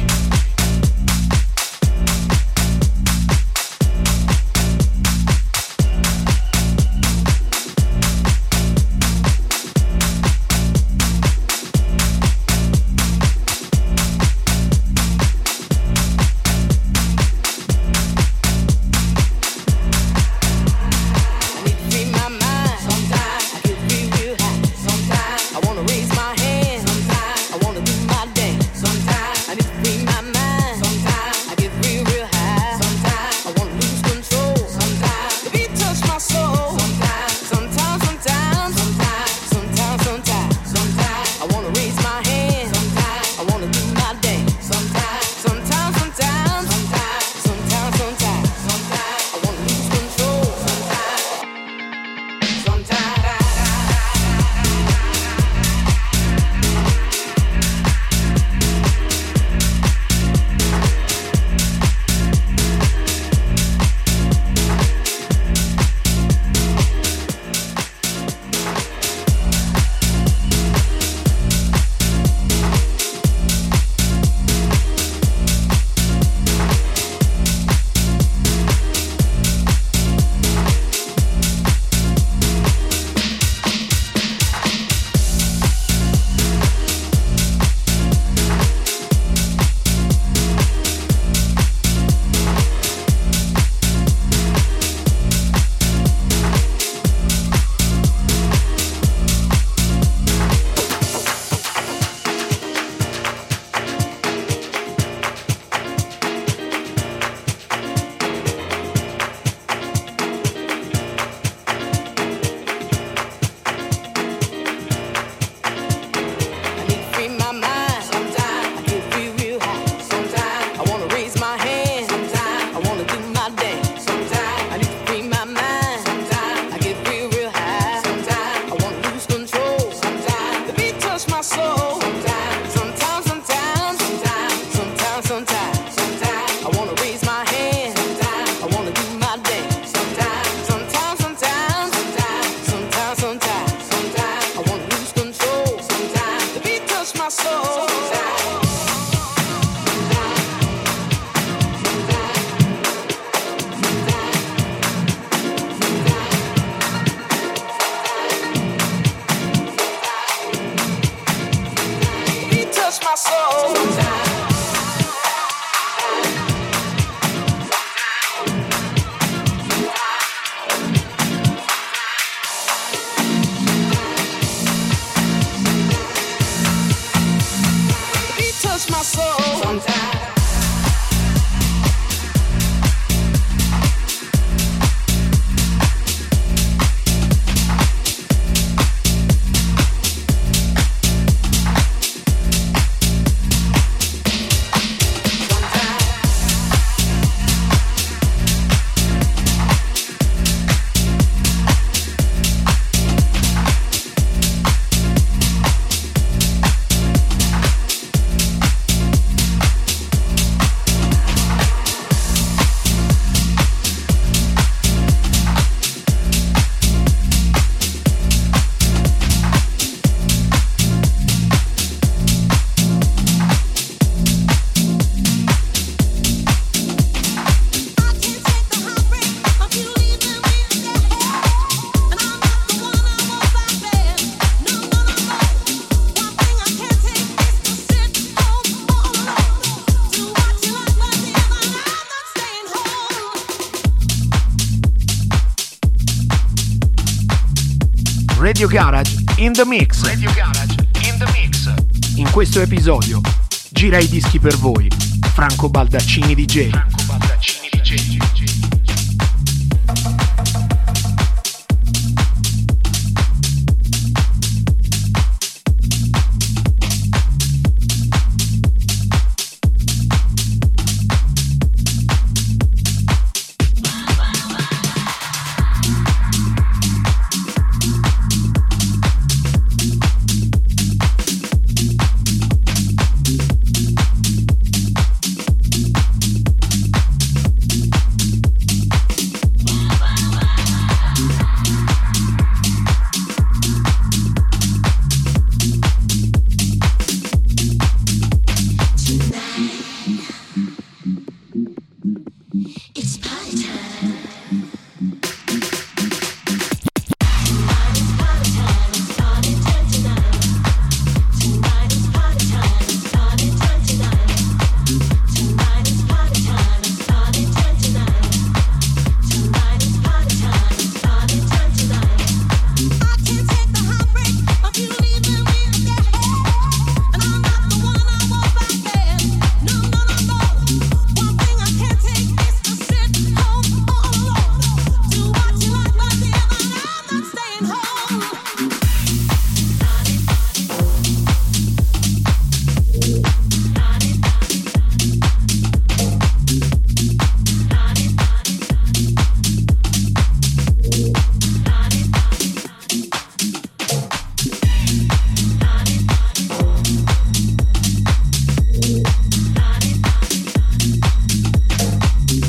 Radio Garage in the mix. Radio Garage in the mix. In questo episodio gira i dischi per voi Franco Baldaccini DJ. Franco Baldaccini DJ.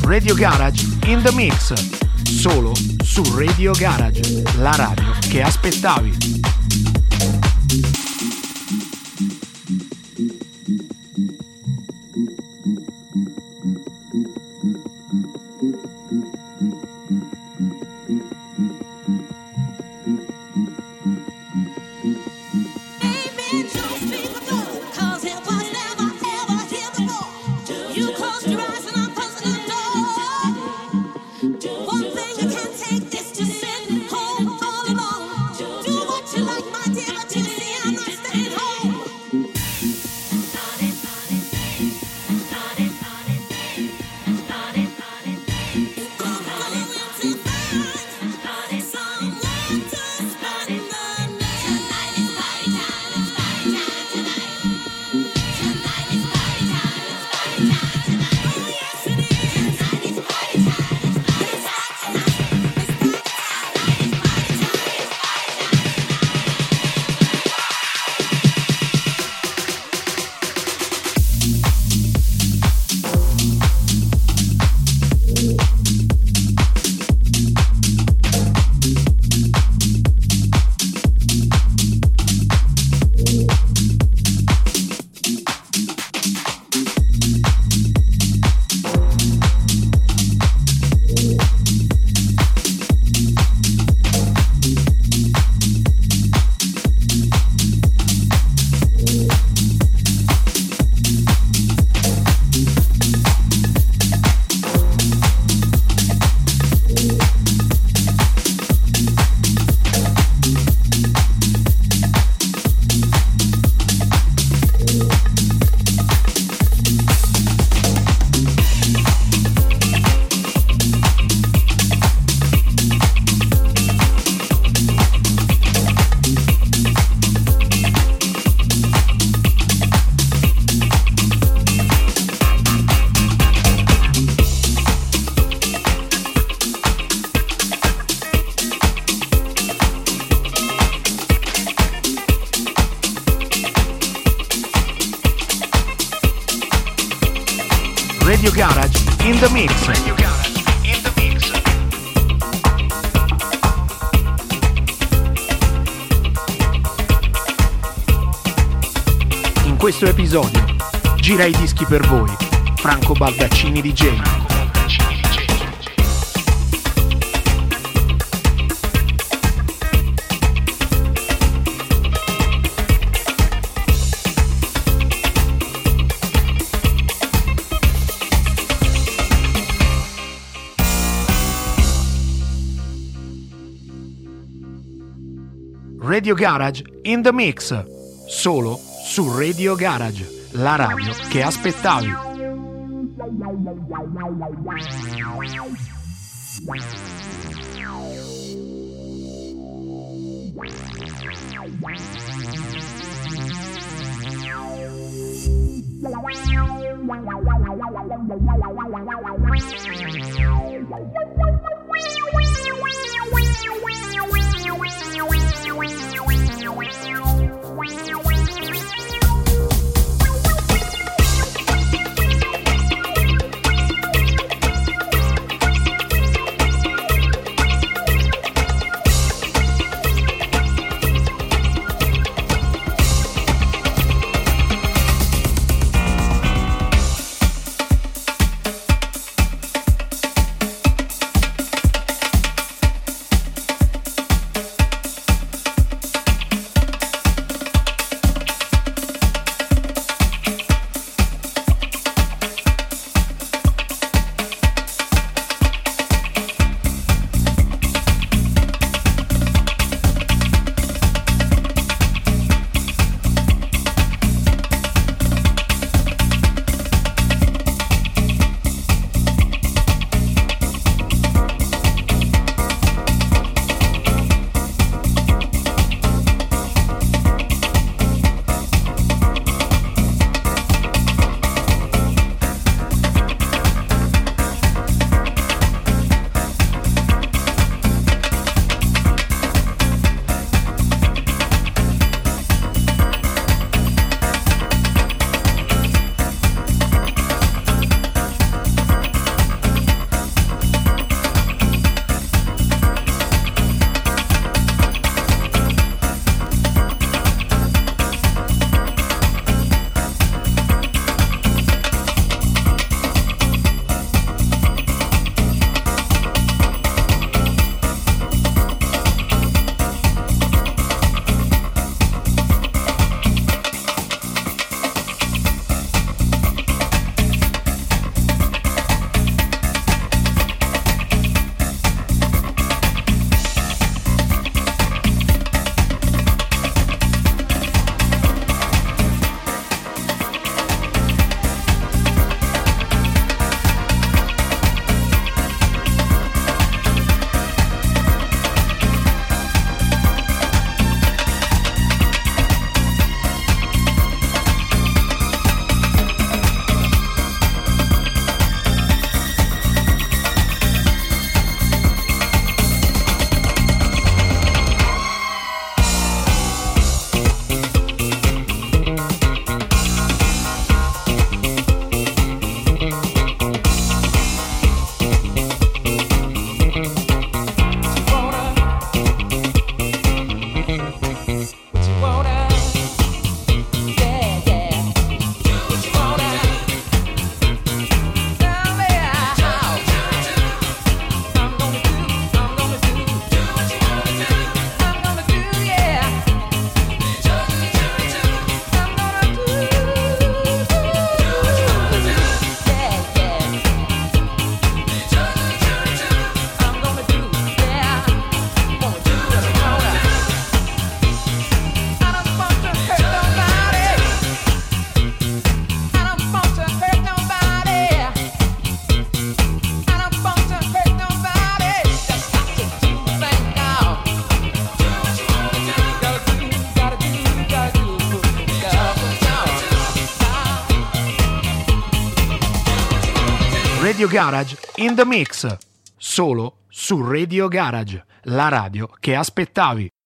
Radio Garage in the Mix, solo su Radio Garage, la radio che aspettavi. Radio Garage in the Mix. Radio Garage in the Mix. In questo episodio gira i dischi per voi Franco Baldaccini DJ. Radio Garage in the Mix, solo su Radio Garage, la radio che aspettavi. Radio Garage in the mix, solo su Radio Garage, la radio che aspettavi.